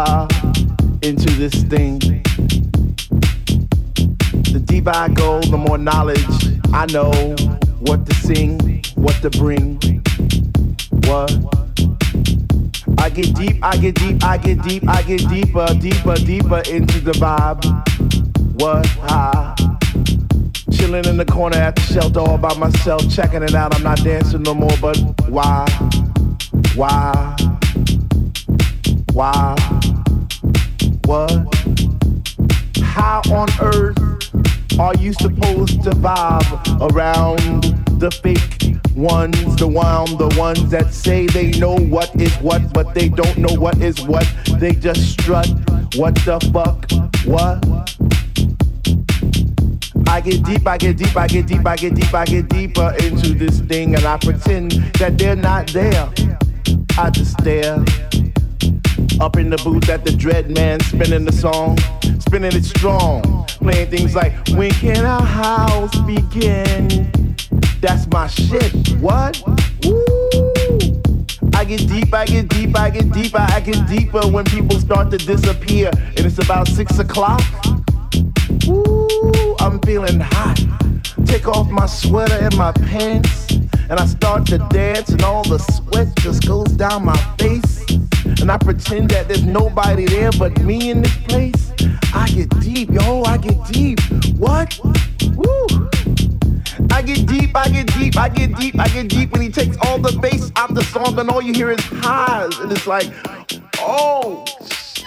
into this thing. The deeper I go, the more knowledge I know what to sing, what to bring. What? I get deep, I get deep, I get deep, I get deeper, deeper, deeper into the vibe. What? Chilling in the corner at the shelter all by myself, checking it out. I'm not dancing no more, but why? Why? Why? What? How on earth are you supposed to vibe around the fake ones, the ones that say they know what is what, but they don't know what is what. They just strut. What the fuck? What? I get deep, I get deep, I get deep, I get deep, I get deeper into this thing, and I pretend that they're not there. I just stare. Up in the booth at the Dread Man, spinning the song, spinning it strong, playing things like, when can our house begin? That's my shit. What? Woo! I get deep, I get deep, I get deeper, I get deeper when people start to disappear, and it's about 6 o'clock. Woo! I'm feeling hot. Take off my sweater and my pants, and I start to dance, and all the sweat just goes down my face. And I pretend that there's nobody there but me in this place. I get deep, yo, I get deep. What? Woo! I get deep, I get deep, I get deep, I get deep when he takes all the bass out the song and all you hear is highs. And it's like, oh, shit.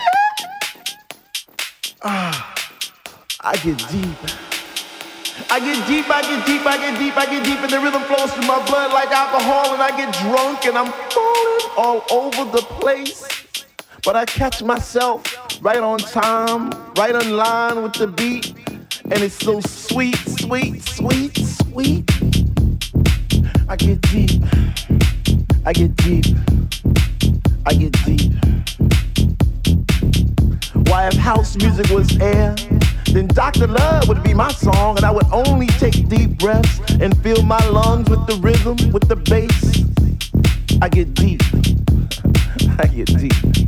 I get deep. I get deep, I get deep, I get deep, I get deep, and the rhythm flows through my blood like alcohol, and I get drunk and I'm falling all over the place. But I catch myself right on time, right on line with the beat, and it's so sweet, sweet, sweet, sweet. I get deep. I get deep. I get deep. Why, if house music was air, then Dr. Love would be my song, and I would only take deep breaths and fill my lungs with the rhythm, with the bass. I get deep. I get deep.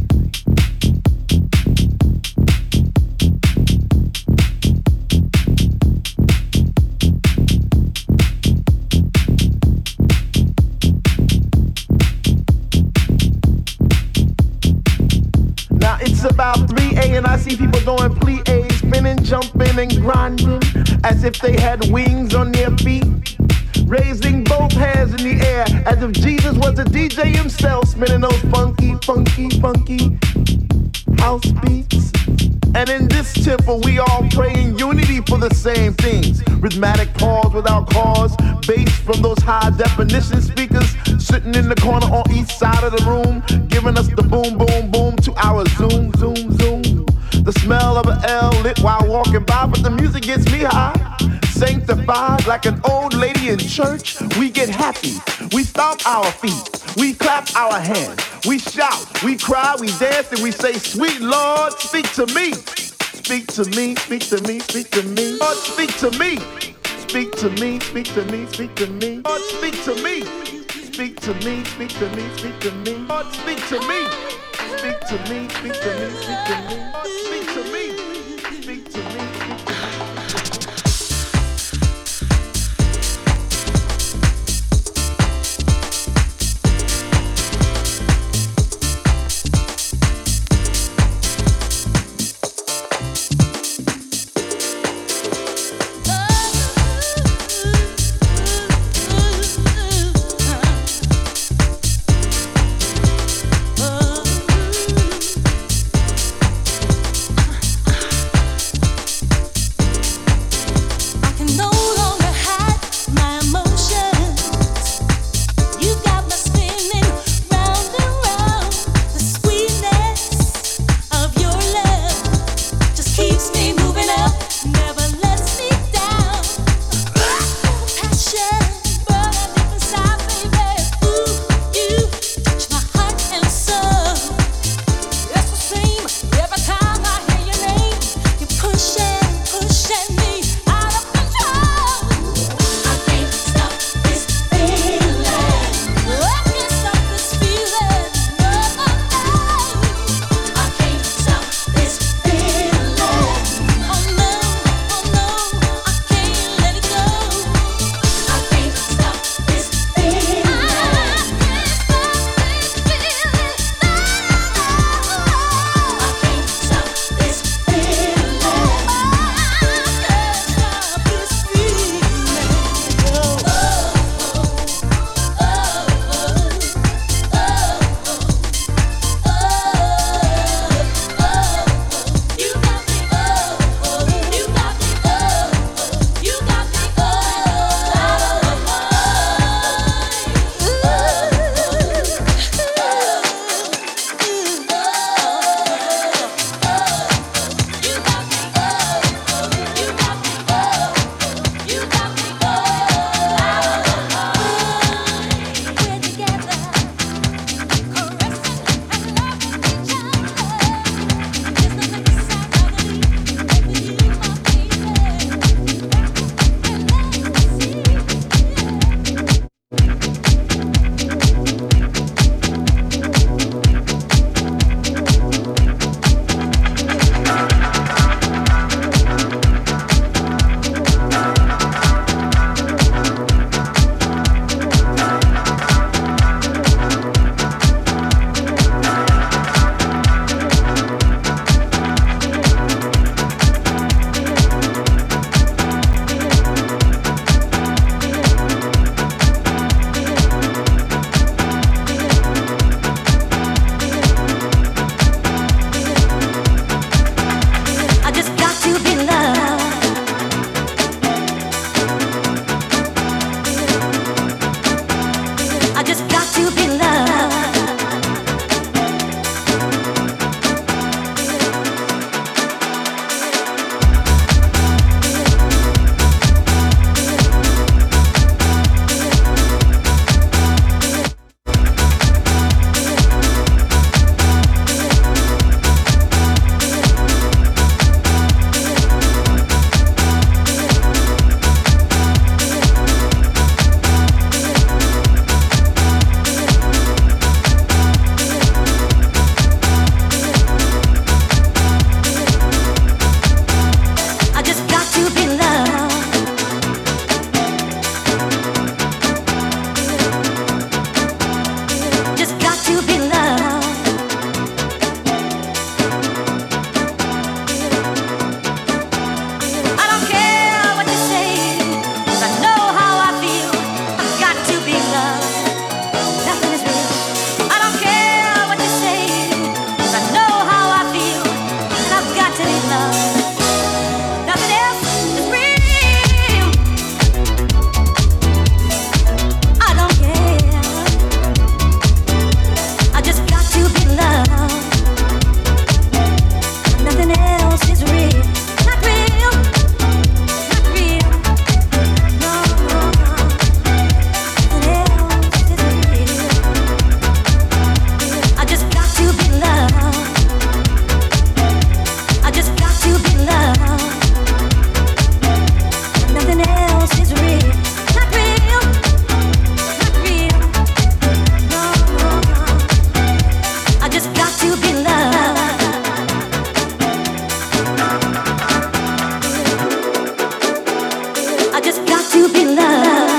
Now it's about 3 a.m. and I see people doing plie, spinning, jumping, and grinding as if they had wings on their feet, raising both hands in the air as if Jesus was the DJ himself, spinning those funky, funky, funky house beats. And in this temple, we all pray in unity for the same things. Rhythmic pause without cause, bass from those high definition speakers sitting in the corner on each side of the room, giving us the boom, boom, boom to our zoom, zoom, zoom. The smell of an L lit while walking by, but the music gets me high. Sanctified like an old lady in church, we get happy. We stomp our feet, we clap our hands, we shout, we cry, we dance, and we say, "Sweet Lord, speak to me. Speak to me, speak to me, speak to me. Lord, speak to me. Speak to me, speak to me, speak to me. Lord, speak to me. Speak to me, speak to me, speak to me. Lord, speak to me. Speak to me, speak to me, speak to me. Lord, speak to me. Speak to me, speak to me. got to be loved.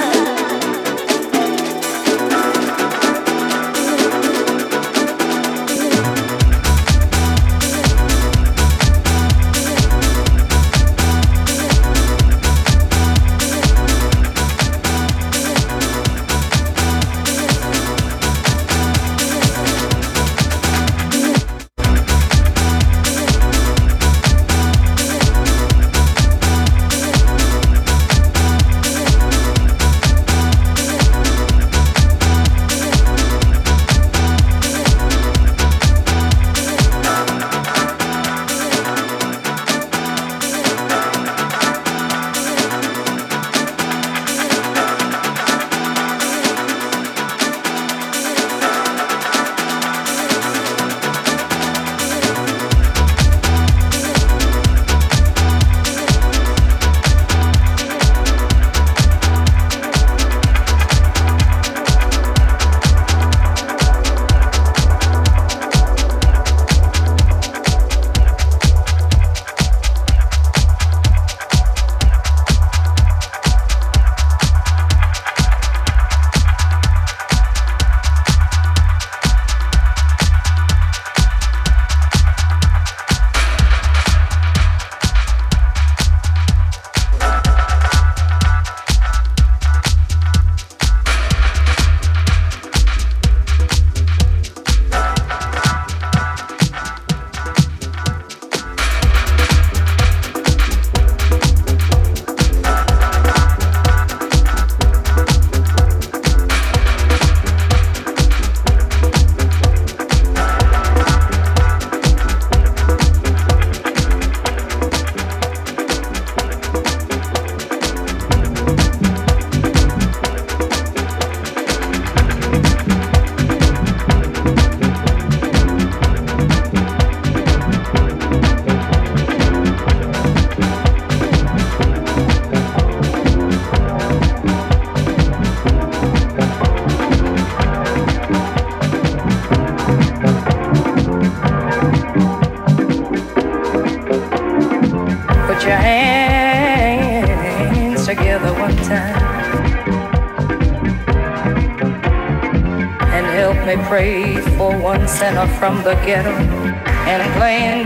Pray for one sinner from the ghetto and playing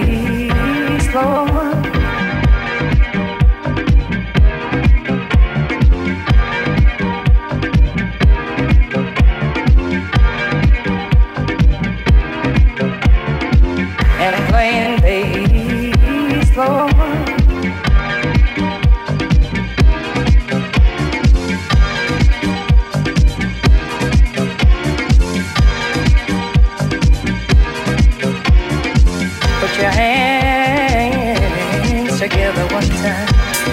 bass, Lord. And playing bass, Lord. Your hands together one time.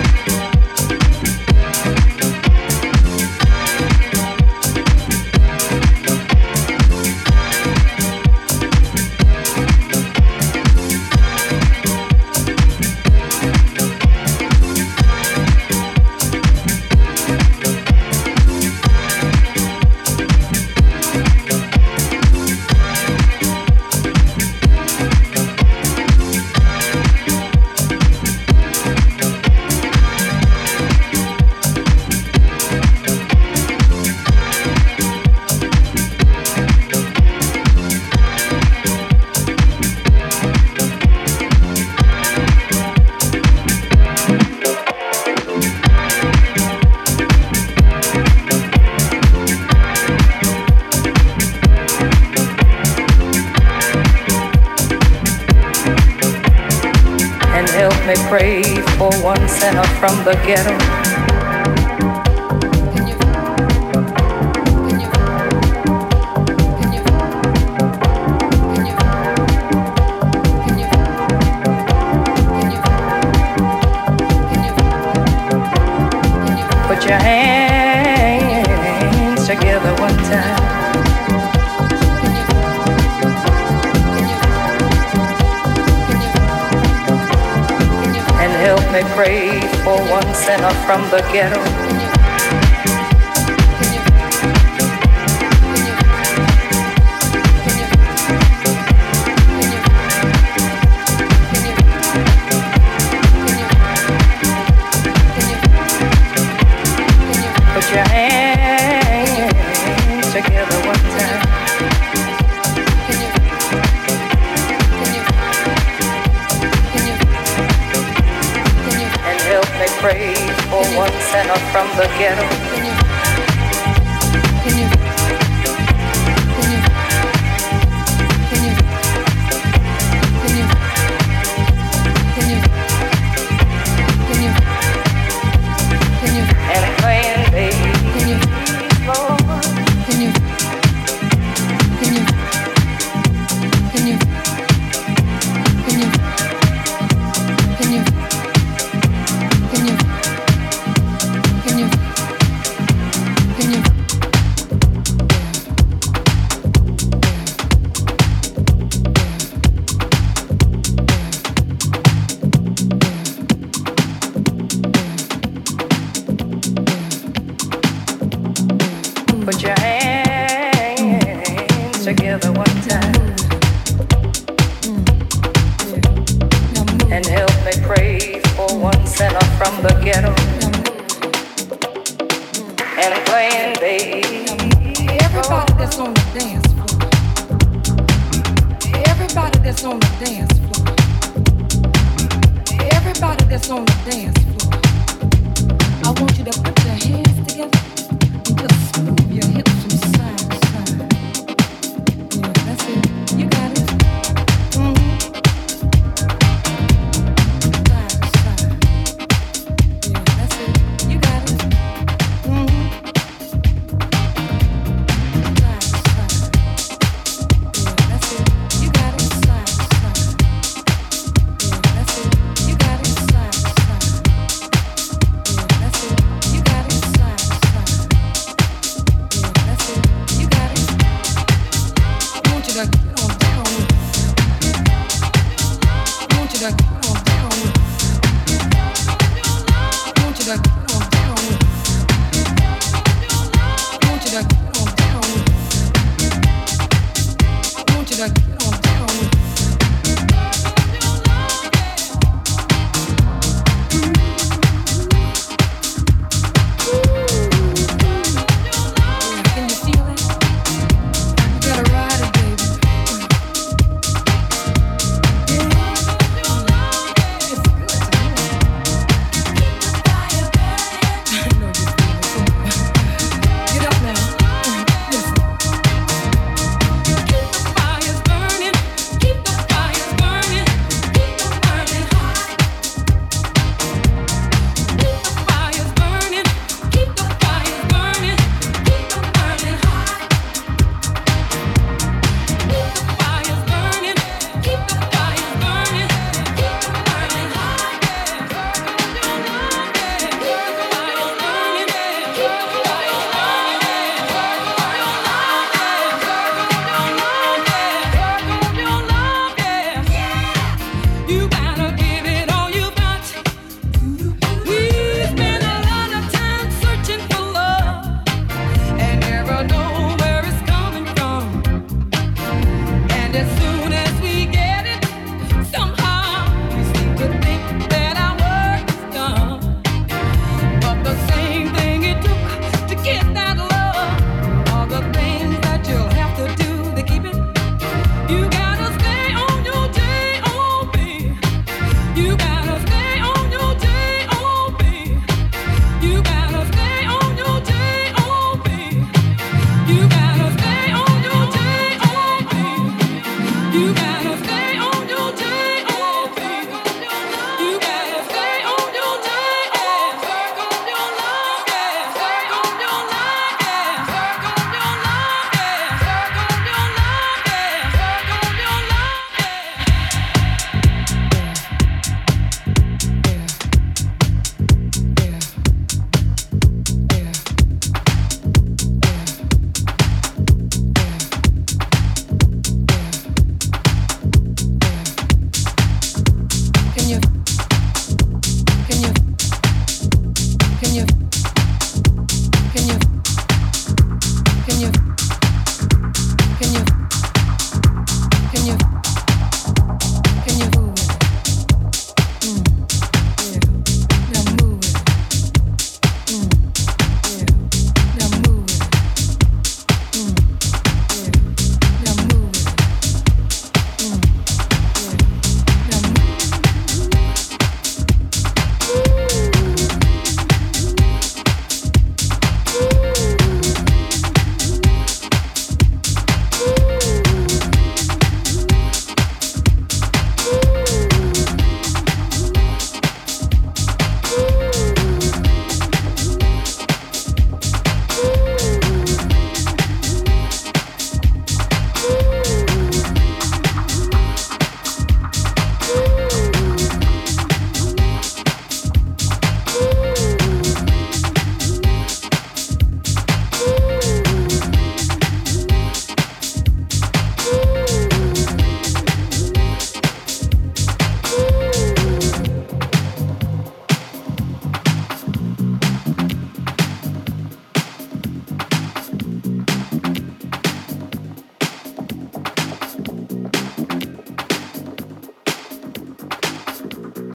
May pray for one sinner from the ghetto. Put your hands together one time. Help me pray for one sinner from the ghetto. from the ghetto. And playing baseball. Put your hands together one time and help me pray for one sinner from the ghetto and playing baby. Everybody that's on the dance floor. Everybody that's on the dance floor. Everybody that's on the dance floor.